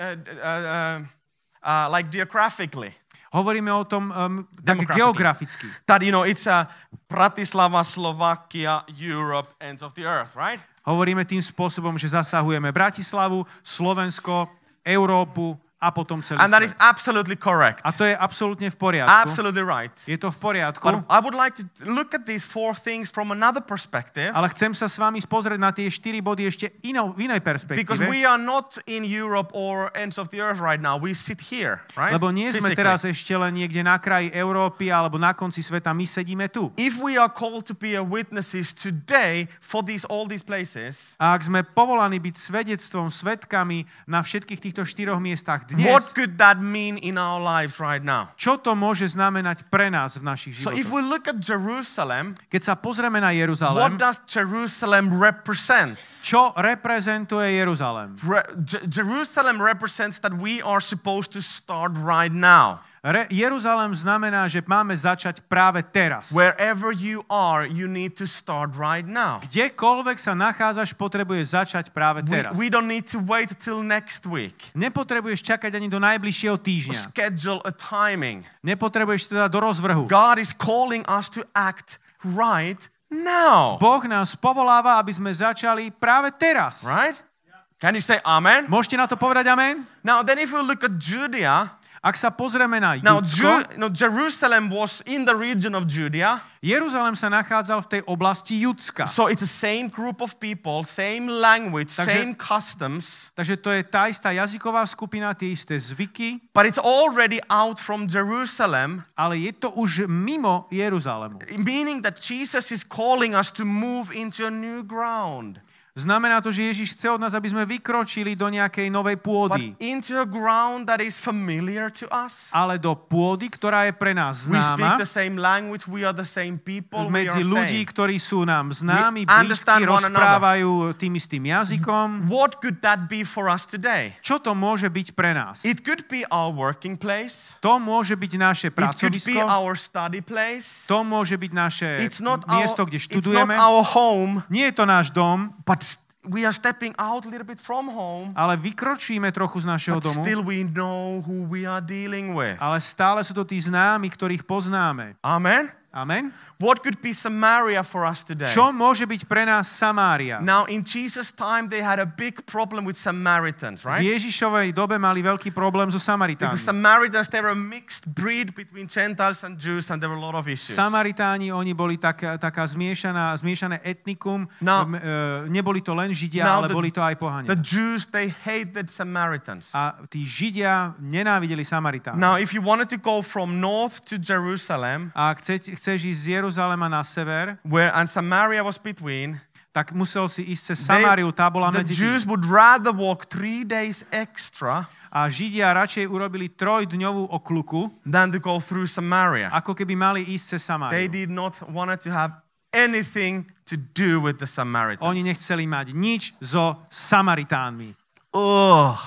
like geographically. hovoríme o tom tak Demographically. geograficky. That, it's Bratislava, Slovakia, Europe, ends of the earth, right? Hovoríme tým spôsobom, že zasahujeme Bratislavu, Slovensko, Európu a potom celý And that is svet. absolutely correct. A to je absolútne v poriadku. Absolutely right. Je to v poriadku. But I would like to look at these 4 things from another perspective. Ale chcem sa s vami pozrieť na tie 4 body ešte v inej Because perspektíve. we are not in Europe or ends of the earth right now. We sit here, right? Lebo nie sme Physically. teraz ešte len niekde na kraji Európy alebo na konci sveta, my sedíme tu. If we are called to be a witnesses today for all these places, A ak sme povolaní byť svedectvom, svedkami na všetkých týchto 4 miestach dnes, what could that mean in our lives right now? čo to môže znamenať pre nás v našich So if životoch? we look at Jerusalem, Keď sa pozrieme na what Jeruzalém, does Jerusalem represent? čo reprezentuje Jeruzalém? Jerusalem represents that we are supposed to start right now. Jeruzalém znamená, že máme začať práve teraz. Wherever you are, you need to start right now. Kdekoľvek sa nachádzaš, potrebuješ začať práve teraz. We don't need to wait till next week. Nepotrebuješ čakať ani do najbližšieho týždňa. Schedule a timing. Nepotrebuješ teda do rozvrhu. God is calling us to act right now. Boh nás povoláva, aby sme začali práve teraz. Right? Can you say amen? Môžete na to povedať amen? Now then if we look at Judea, Ak sa pozrieme na now Judsko, Jerusalem was in the region of Judea. Jeruzalém sa nachádzal v tej oblasti Judska. So it's the same group of people, same language, same customs. Takže to je tá istá jazyková skupina, tie isté zvyky, But it's already out from Jerusalem, ale je to už mimo Jeruzalému. meaning that Jesus is calling us to move into a new ground. Znamená to, že Ježiš chce od nás, aby sme vykročili do nejakej novej But pôdy. into a ground that is familiar to us. Ale do pôdy, ktorá je pre nás We speak známa, the same language, we are the same people, we medzi are ľudí, same. ktorí sú nám známi, We understand blízki, one another. rozprávajú tým istým jazykom. What could that be for us today? Čo to môže byť pre nás? It could be our working place. To môže byť naše It could be pracovisko, our study place. to môže byť naše It's not miesto, kde it's not študujeme. our home, Nie je to náš dom, but we are stepping out a little bit from home. ale vykročíme trochu z našeho But domu. still we know who we are dealing with. Ale stále sú to tí známi, ktorých poznáme. Amen? Amen? What could be Samaria for us today? Čo môže byť pre nás Samária? Now, in Jesus' time, they had a big problem with Samaritans, V right? Ježišovej dobe mali veľký problém so Because Samaritánmi. Samaritans, they were a mixed breed between Gentiles and Jews, and there were a lot of issues. Samaritáni, oni boli taká zmiešané etnikum. No. Neboli to len Židia, Now ale boli to aj The pohania. Jews, they hated Samaritans. A tí Židia nenávideli Samaritánov. Now, if you wanted to go from north to Jerusalem, A ak chceš ísť z Jeruzalema na sever, and Samaria was between, tak musel si ísť cez Samáriu, tá bola the medzi Jews tým. would rather walk 3 days extra A Židia radšej urobili 3-dňovú okľuku, than to go through Samaria. ako keby mali ísť cez They Samáriu. did not want to have anything to do with the Samaritans. Oni nechceli mať nič so Samaritánmi. Ugh.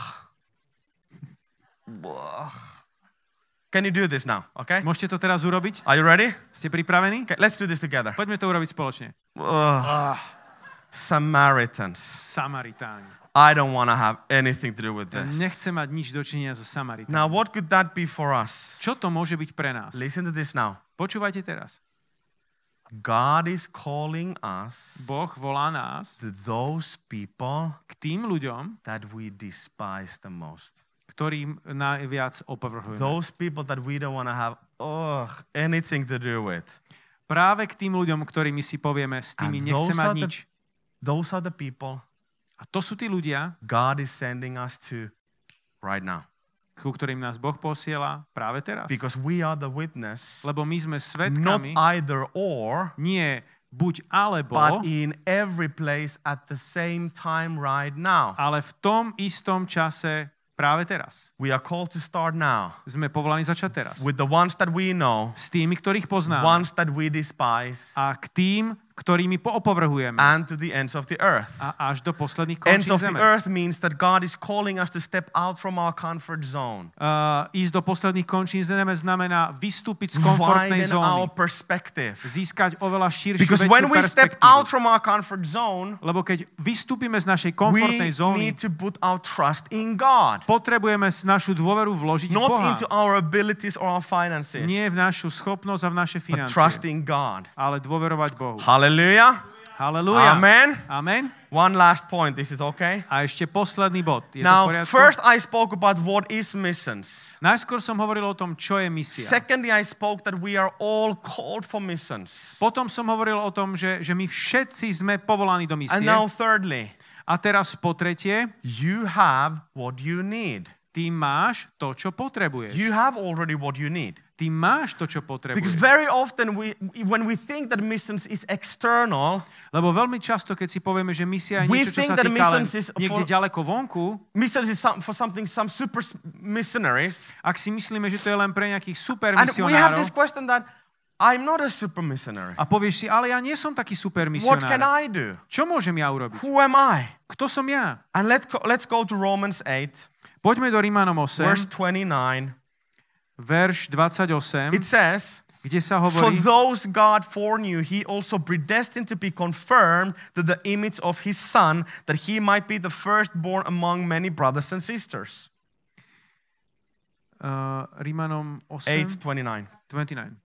Can you do this now? Okay? Môžete to teraz urobiť? Are you ready? Ste pripravení? Okay, let's do this together. Poďme to urobiť spoločne. Samaritans. Samaritáni. I don't want to have anything to do with this. Nechcem mať nič dočinenia so Samaritánmi. Now, what could that be for us? Čo to môže byť pre nás? Listen to this now. Počúvajte teraz. God is calling us Boh volá nás to those people k tým ľuďom, that we despise the most. ktorým najviac opovrhujeme. Those people that we don't want to have anything to do with. Práve k tým ľuďom, ktorými si povieme, s tými And nechcem mať nič. Those are the people A to sú tí ľudia, God is sending us to right now. ku ktorým nás Boh posiela práve teraz. Because we are the witness, Lebo my sme not svedkami, either or, nie buď alebo, but in every place at the same time right now. ale v tom istom čase práve teraz. We are called to start now Sme povolaní začať teraz. with the ones that we know, S tými, ktorých poznáme. ones that we despise, A k tým, ktorými poopovrhujeme. and to the ends of the earth. A až do posledných Ends končín of the zeme. earth means that God is calling us to step out from our comfort zone, Ísť do posledných končín zeme znamená vystúpiť z komfortnej widen our zóny. perspective. Získať oveľa širšiu, Because väčšiu when we step out perspektívu. from our comfort zone, Lebo keď vystúpime z našej we komfortnej zóny, need to put our trust in God, potrebujeme našu dôveru vložiť v not Boha. into our abilities or our finances, Nie v našu schopnosť a v naše but financie, trust in God. ale dôverovať Bohu. Hallelujah. Halelúja. Amen. Amen. One last point. This is okay. A ešte posledný bod. Je to v Now, poriadku? first I spoke about what is missions. Najskôr som hovoril o tom, čo je misia. Secondly, I spoke that we are all called for missions. Potom som hovoril o tom, že my všetci sme povolaní do misie. And now, thirdly, A teraz po tretie, you have what you need. ty máš to, čo potrebuješ. You have already what you need. Ty máš to, čo Because potrebuješ. very often, when we think that missions is external, Lebo veľmi často, keď si povieme, že misia je We niečo, čo think sa that týka len missions is niekde for- ďaleko vonku, missions is for something, some super missionaries. ak si myslíme, že to je len pre nejakých super And we have misionárov, this question that I'm not a super missionary. a povieš si, ale ja nie som taký super What can misionár. I do? Čo môžem ja urobiť? Who am I? Kto som ja? And let's go to Romans 8, Poďme do Rímanom verse 8, 29. verš 28, It says, kde sa for hovorí, those God foreknew, he also predestined to be conformed to the image of his Son, that he might be the firstborn among many brothers and sisters. Rímanom 8, 8:29. 29.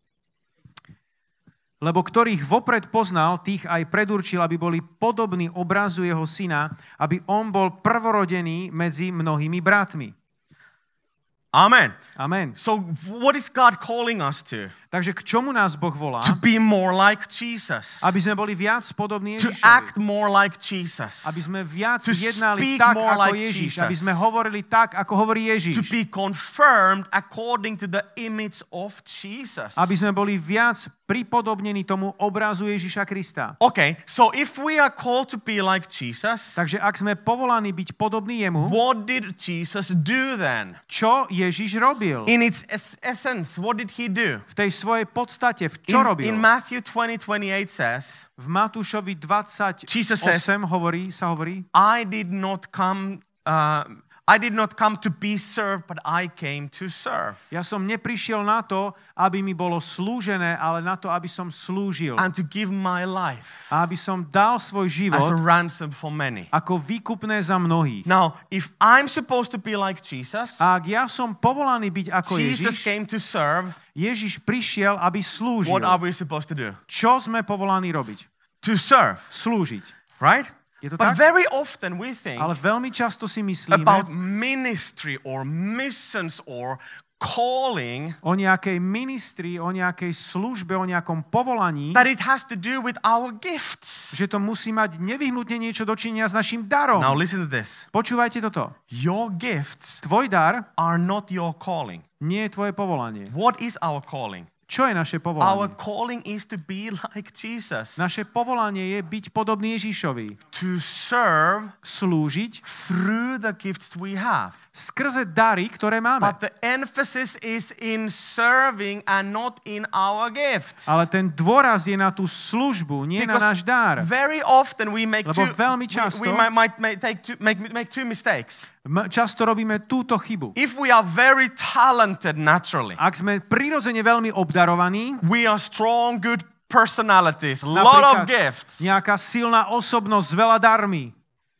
Lebo ktorých vopred poznal, tých aj predurčil, aby boli podobní obrazu jeho syna, aby on bol prvorodený medzi mnohými bratmi. Amen. Amen. So what is God calling us to? Takže k čomu nás Boh volá? To be more like Jesus. Aby sme boli viac podobní To Ježišovi. act more like Jesus. Aby sme viac To jednali speak tak, more ako like Ježiš. Jesus. Aby sme hovorili tak, ako hovorí To Ježiš. be confirmed according to the image of Jesus. Aby sme boli viac pripodobnení tomu obrazu Ježiša Krista. Okay, so if we are called to be like Jesus, Takže ak sme povolaní byť podobní jemu, what did Jesus do then? čo Ježiš robil? In its essence, what did he do? V tej svojej podstate, čo robil? In Matthew 20:28 says, V Matúšovi 28 Jesus says, sa hovorí, I did not come to be served, but I came to serve. ja som neprišiel na to, aby mi bolo slúžené, ale na to, aby som slúžil. And to give my life A aby som dal svoj as a život ransom for many. ako výkupné za mnohých. Now, if I'm supposed to be like Jesus, A ak ja som povolaný byť ako Jesus Ježiš, came to serve, Ježiš prišiel, aby slúžil. what are we supposed to do? Čo sme povolaní robiť? To serve, Slúžiť. right? Je to But tak? very often we think Ale veľmi často si myslíme about ministry or missions or calling o nejakej ministrii, o nejakej službe, o nejakom povolaní, that it has to do with our gifts. že to musí mať nevyhnutne niečo dočinenia s našim darom. Now listen to this. Počúvajte toto. Your gifts Tvoj dar are not your calling. nie je tvoje povolanie. What is our calling? Čo je naše Our povolanie? calling is to be like Jesus. Naše povolanie je byť podobný Ježišovi. To serve Slúžiť through the gifts we have. skrze dary, ktoré máme. But the emphasis is in serving and not in our gifts. Ale ten dôraz je na tú službu, nie na náš dar. very often we make Lebo two, veľmi we často- might make two mistakes. Často robíme túto chybu. If we are very talented naturally, Ak sme prirodzene veľmi obdarovaní, we are strong, good personalities, a lot of gifts. nejaká silná osobnosť s veľa darmi,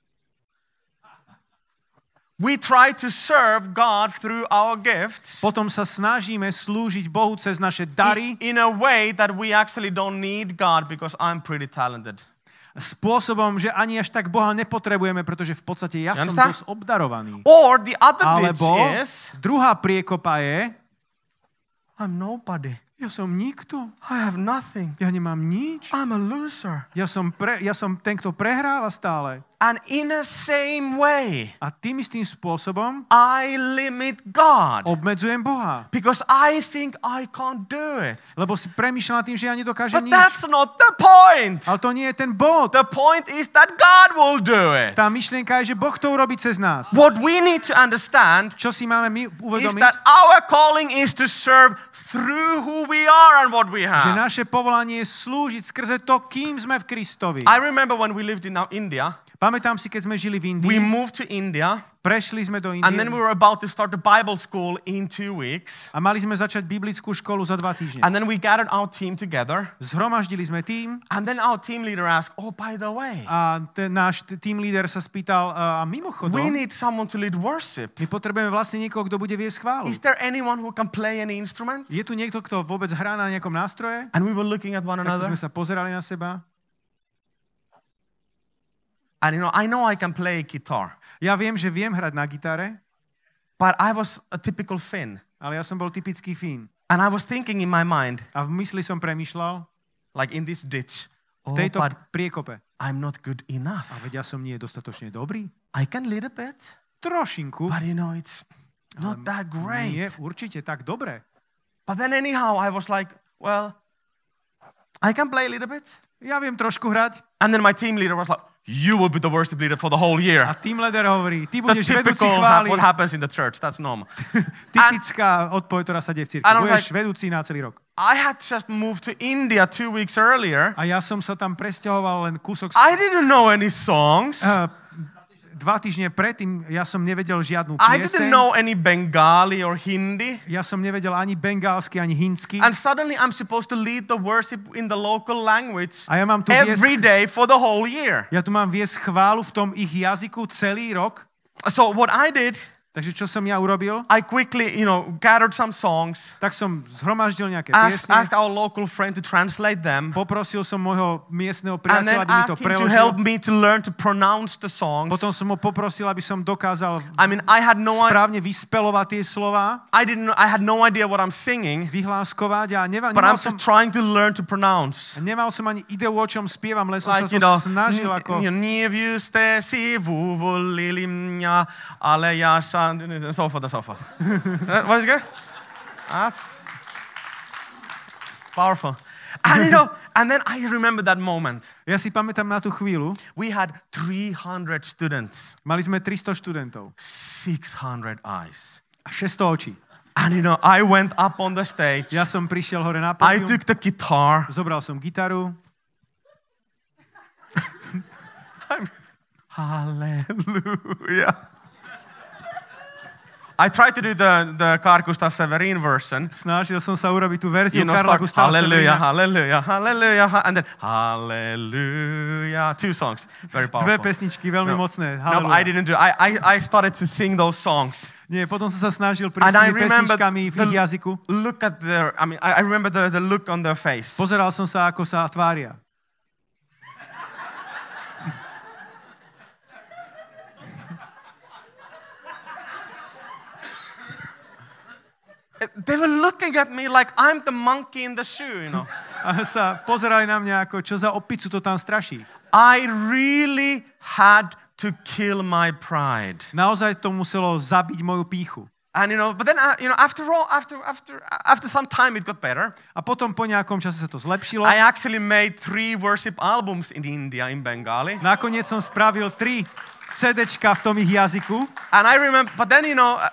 We try to serve God through our gifts potom sa snažíme slúžiť Bohu cez naše dary in a way that we actually don't need God because I'm pretty talented. spôsobom, že ani až tak Boha nepotrebujeme, pretože v podstate ja som understand? dosť obdarovaný. Or the other pitch Alebo is, druhá priekopa je, I'm nobody. ja som nikto, I have nothing. ja nemám nič, I'm a loser. ja som ten, kto prehráva stále. And in the same way, A tým istým spôsobom I limit God. obmedzujem Boha. Because I think I can't do it. Lebo si premýšľam nad tým, že ja nedokážem But nič. that's not the point. Ale to nie je ten bod. The point is that God will do it. Tá myšlienka je, že Boh to urobí cez nás. What we need to understand Čo si máme my is uvedomiť? that our calling is to serve through who we are and what we Že have. naše povolanie je slúžiť skrze to, kým sme v Kristovi. I remember when we lived in India, Pamätám si, keď sme žili v we Indii, moved to India, prešli sme do and then we Indie were about to start the Bible school in 2 weeks. a mali sme začať biblickú školu za 2 týždne. And then we gathered our team together, Zhromaždili sme tým and then our team leader asked, "Oh, by the way, a náš team leader sa spýtal, a we mimochodom, need someone to lead worship. my potrebujeme vlastne niekoho, kto bude viesť chválu. Is there anyone who can play any instrument?" Je tu niekto, kto vôbec hrá na nejakom nástroje? And we were looking at one Tak another. sme sa pozerali na seba. And I know I can play guitar, Ja viem, že viem hrať na gitare, but I was a typical Finn. ale ja som bol typický Fín. And I was thinking in my mind, A v mysli som premýšľal, like in this ditch, v oh, tejto but priekope. I'm not good enough. A veď ja som nie dostatočne dobrý. I can lead a bit, Trošinku. but it's not that Nie, great. určite tak dobre. But then anyhow, I was like, well, I can play a little bit. Ja viem trošku hrať. And then my team leader was like, you will be the worship leader for the whole year. A team leader hovorí, ty The budeš vedúci typical chvály. what happens in the church, that's normal. Typická odpoveď, ktorá sa deje v cirkvi. And I was Budeš vedúci na celý rok. I had just moved to India 2 weeks earlier. A ja som sa tam presťahoval len kúsok. I didn't know any songs. 2 týždne predtým ja som nevedel žiadnu I didn't pieseň. know any Bengali or Hindi. Ja som nevedel ani bengálsky, ani hindsky. And suddenly I'm supposed to lead the worship in the local language A ja mám tu every day for the whole year. Ja tu mám viesť chválu v tom ich jazyku celý rok. So what I did, Takže čo som ja urobil? I quickly, gathered some songs, Tak som zhromaždil nejaké asked piesne. our local friend to translate them, Poprosil som môjho miestneho and then priateľa, aby mi to asked him to help preložil. me to learn to pronounce the songs. Potom som ho poprosil, aby som dokázal I had no idea. správne vyspelovať tie slova, I had no idea what I'm singing, vyhláskovať a but I'm just trying to learn to pronounce. nemal som ani ideu, o čom spievam, len som Like, sa to snažil ako... Nie ste si volili mňa, ale ja sa... So forth and so forth. What is good? That's powerful. And then I remember that moment. Ja si pamätám na tú chvíľu. We had 300 students, Mali sme 300 študentov 600 eyes. a 600 očí. And I went up on the stage. Ja som prišiel hore na I pódium, took the guitar. zobral som gitaru. Hallelujah. I tried to do the Carl Gustaf Severin version. Snažil som sa urobiť tú verziu Karla Start Gustava hallelujah, Severina. hallelujah, hallelujah, and then hallelujah. 2 songs, very Dve powerful. pesničky veľmi mocné. No, but I didn't do. I started to sing those songs. Nie, potom som sa snažil And prísť I tými remember pesničkami v ich jazyku. look at their. I remember the look on their face. Pozeral som sa, ako sa tvária. They were looking at me like I'm the monkey in the shoe, A sa pozerali na mňa ako, čo za opicu to tam straší. I really had to kill my pride. Naozaj to muselo zabiť moju pýchu. And but then after some time it got better. A potom po nejakom čase sa to zlepšilo. I actually made 3 worship albums in India in Bengali. Nakoniec som spravil 3 CDčka v tom ich jazyku. And I remember, but then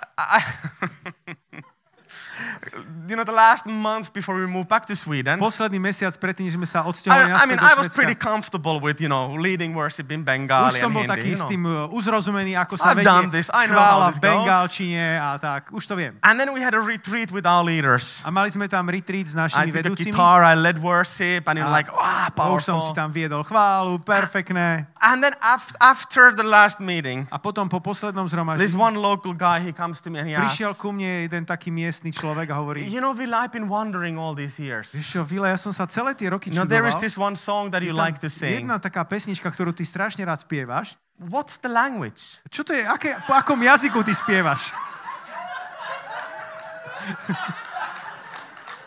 the last month before we moved back to Sweden, Posledný mesiac predtým, než sme sa odsťahovali naspäť I do was pretty Švédska. comfortable with, leading worship in Bengali Už som bol and taký Hindi. s tým uzrozumený, ako sa I've done vedie this. I know how chvála this v bengálčine a tak. Už to viem. And then we had a retreat with our leaders. A mali sme tam retreat s I našimi took a vedúcimi. guitar, I led worship, and A už som si powerful. tam viedol chválu, perfektné. And then after the last meeting, A potom po poslednom this zhromaždení one local guy, he comes to me and he asks, prišiel ku mne jeden taký miestny človek a hovorí, Will, I've been wondering all these years. vieš čo, Vile, ja som sa celé tie roky There is čudoval. this one song that you Je tam like to sing. jedna taká pesnička, ktorú ty strašne rád spievaš. What's the language? Čo to je? Po akom jazyku ty spievaš?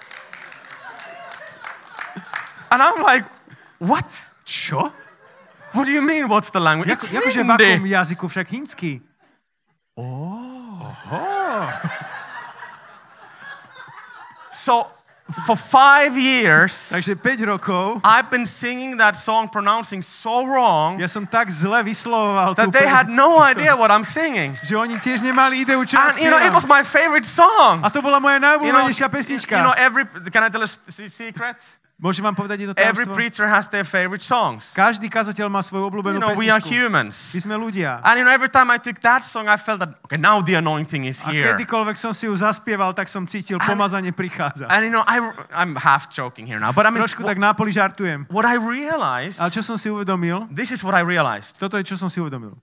And I'm like, what? Čo? What do you mean, what's the language? It's Akože v akom Hindi. jazyku? Však hindsky. So, for 5 years, Takže 5 rokov I've been singing that song, pronouncing so wrong, ja som tak zle vyslovoval that they had no idea what I'm singing. že oni tiež nemali ideu, čo And, it was spievam. my favorite song. A to bola moja najobľúbenejšia pesnička. Can I tell a secret? Môžem vám povedať jedno Every tajomstvo? preacher has their favorite songs. Každý kazateľ má svoju obľúbenú We are pesničku. humans. My sme ľudia. And every time I took that song, I felt that, okay, now the anointing is A here. kedykoľvek som si ju zaspieval, tak som cítil, pomazanie prichádza. And I'm half joking here now, but I mean, Trošku tak nápoli žartujem. what I realized, Ale čo som si uvedomil? this is what I realized. Toto je, čo som si uvedomil.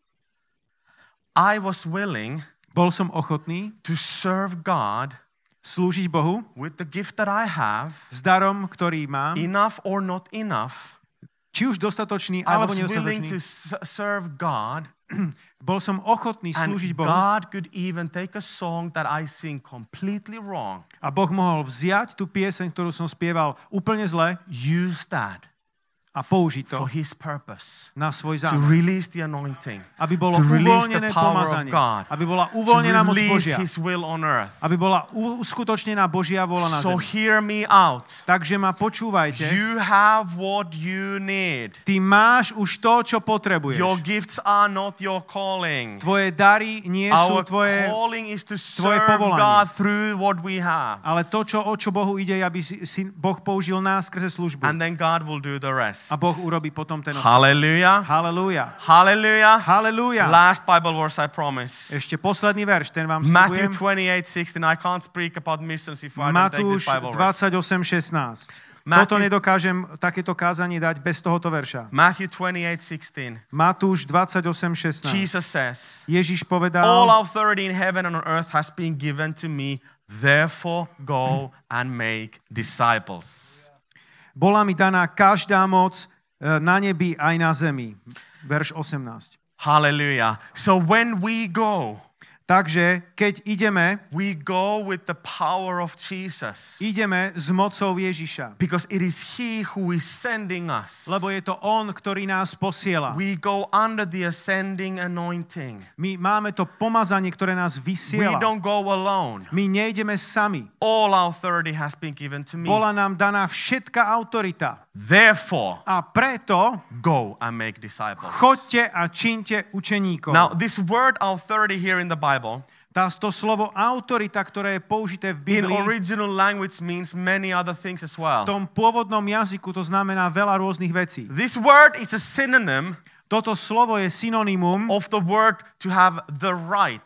I was willing Bol som ochotný to serve God slúžiť Bohu with the gift that I have, s darom, ktorý mám, enough or not enough. či už dostatočný, I alebo was willing to nedostatočný. serve God, Bol som ochotný and slúžiť Bohu. God could even take a song that I sing completely wrong, A Boh mohol vziať tú pieseň, ktorú som spieval úplne zle use that a použiť to for His purpose, na svoj to zámer. release the anointing, Aby bolo to release the uvoľnené power of pomazanie. God, Aby bola to uvoľnená moc release Božia. His will on earth. Aby bola uskutočnená Božia vôľa na So zemi. hear me out. Takže ma počúvajte. You have what you need. Ty máš už to, čo potrebuješ. Your gifts are not your calling. Tvoje dary nie sú Our tvoje, calling is to tvoje serve povolanie. God through what we have. ale to, o čo Bohu ide, je, aby si Boh použil nás skrze službu. And then God will do the rest. A Boh urobí potom ten ostatok. Hallelujah. Halelúja. Hallelujah. Halelúja. Last Bible verse I promise. Ešte posledný verš, ten vám Matthew sľubujem. 28:16. I can't speak about missions if I don't take Matúš this Bible verse. 28:16. Matthew- Toto nedokážem takéto kázanie dať bez tohoto verša. Matthew 28:16. Matúš 28:16. Jesus says, Ježiš all povedal, authority in heaven and on earth has been given to me. Therefore go and make disciples. bola mi daná každá moc na nebi aj na zemi. Verš 18. Hallelujah. So when we go, Takže keď ideme, we go with the power of Jesus. ideme s mocou Ježiša. Because it is He who is sending us. Lebo je to On, ktorý nás posiela. We go under the ascending anointing. My máme to pomazanie, ktoré nás We vysiela. don't go alone. My nejdeme sami. All authority has been given to me. Bola nám daná všetká autorita. Therefore, A preto go and make disciples. choďte a čiňte učeníkov. Now, this word authority here in the Bible, To slovo autorita, ktoré je použité v in Biblii, original language means many other things as well. v tom pôvodnom jazyku to znamená veľa rôznych vecí. This word is a synonym Toto slovo je synonymum of the word to have the right,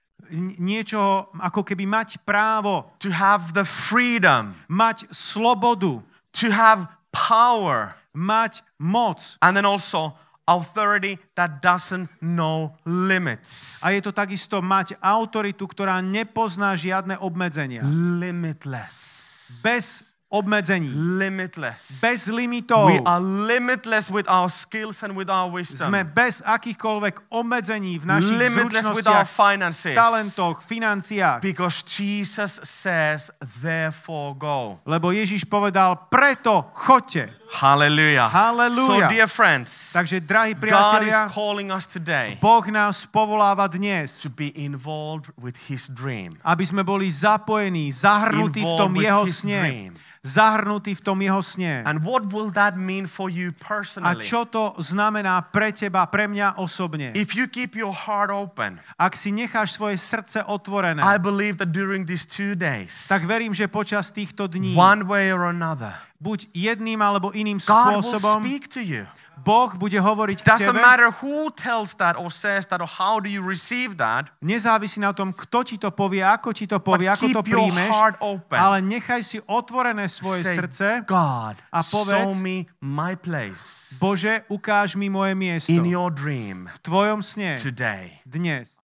niečoho ako keby mať právo, to have the freedom, mať slobodu, to have power, mať moc. and then also authority that doesn't know limits. A je to takisto mať autoritu, ktorá nepozná žiadne obmedzenia. Limitless. Bez obmedzení. Limitless. Bez limitov. We are limitless with our skills and with our wisdom. Sme bez akýchkoľvek obmedzení v našich Limitless with our zručnostiach, finances. talentoch, financiách. Because Jesus says, therefore go. Lebo Ježiš povedal, preto choďte. Hallelujah. Hallelujah. So, dear friends, Takže, drahí God is priatelia, calling us today Boh nás povoláva dnes, to be involved with His dream. aby sme boli zapojení, zahrnutí v tom Involved with jeho His sne. dream. Zahrnutí v tom jeho sne. And what will that mean for you A personally? čo to znamená pre teba, pre mňa osobne? If you keep your heart open, Ak si necháš svoje srdce otvorené, I believe that during these 2 days, tak verím, že počas týchto dní, one way or another, buď jedným alebo iným God will spôsobom, speak to you. Boh bude hovoriť k Doesn't tebe. matter who tells that or says that or how do you receive that, Nezávisí na tom, kto ti to povie, ako ti to povie, but ako to keep your príjmeš, heart open. ale nechaj si otvorené svoje Say, srdce. God, a povedz, show me my place Bože, ukáž mi moje miesto in your dream v tvojom sne today. dnes.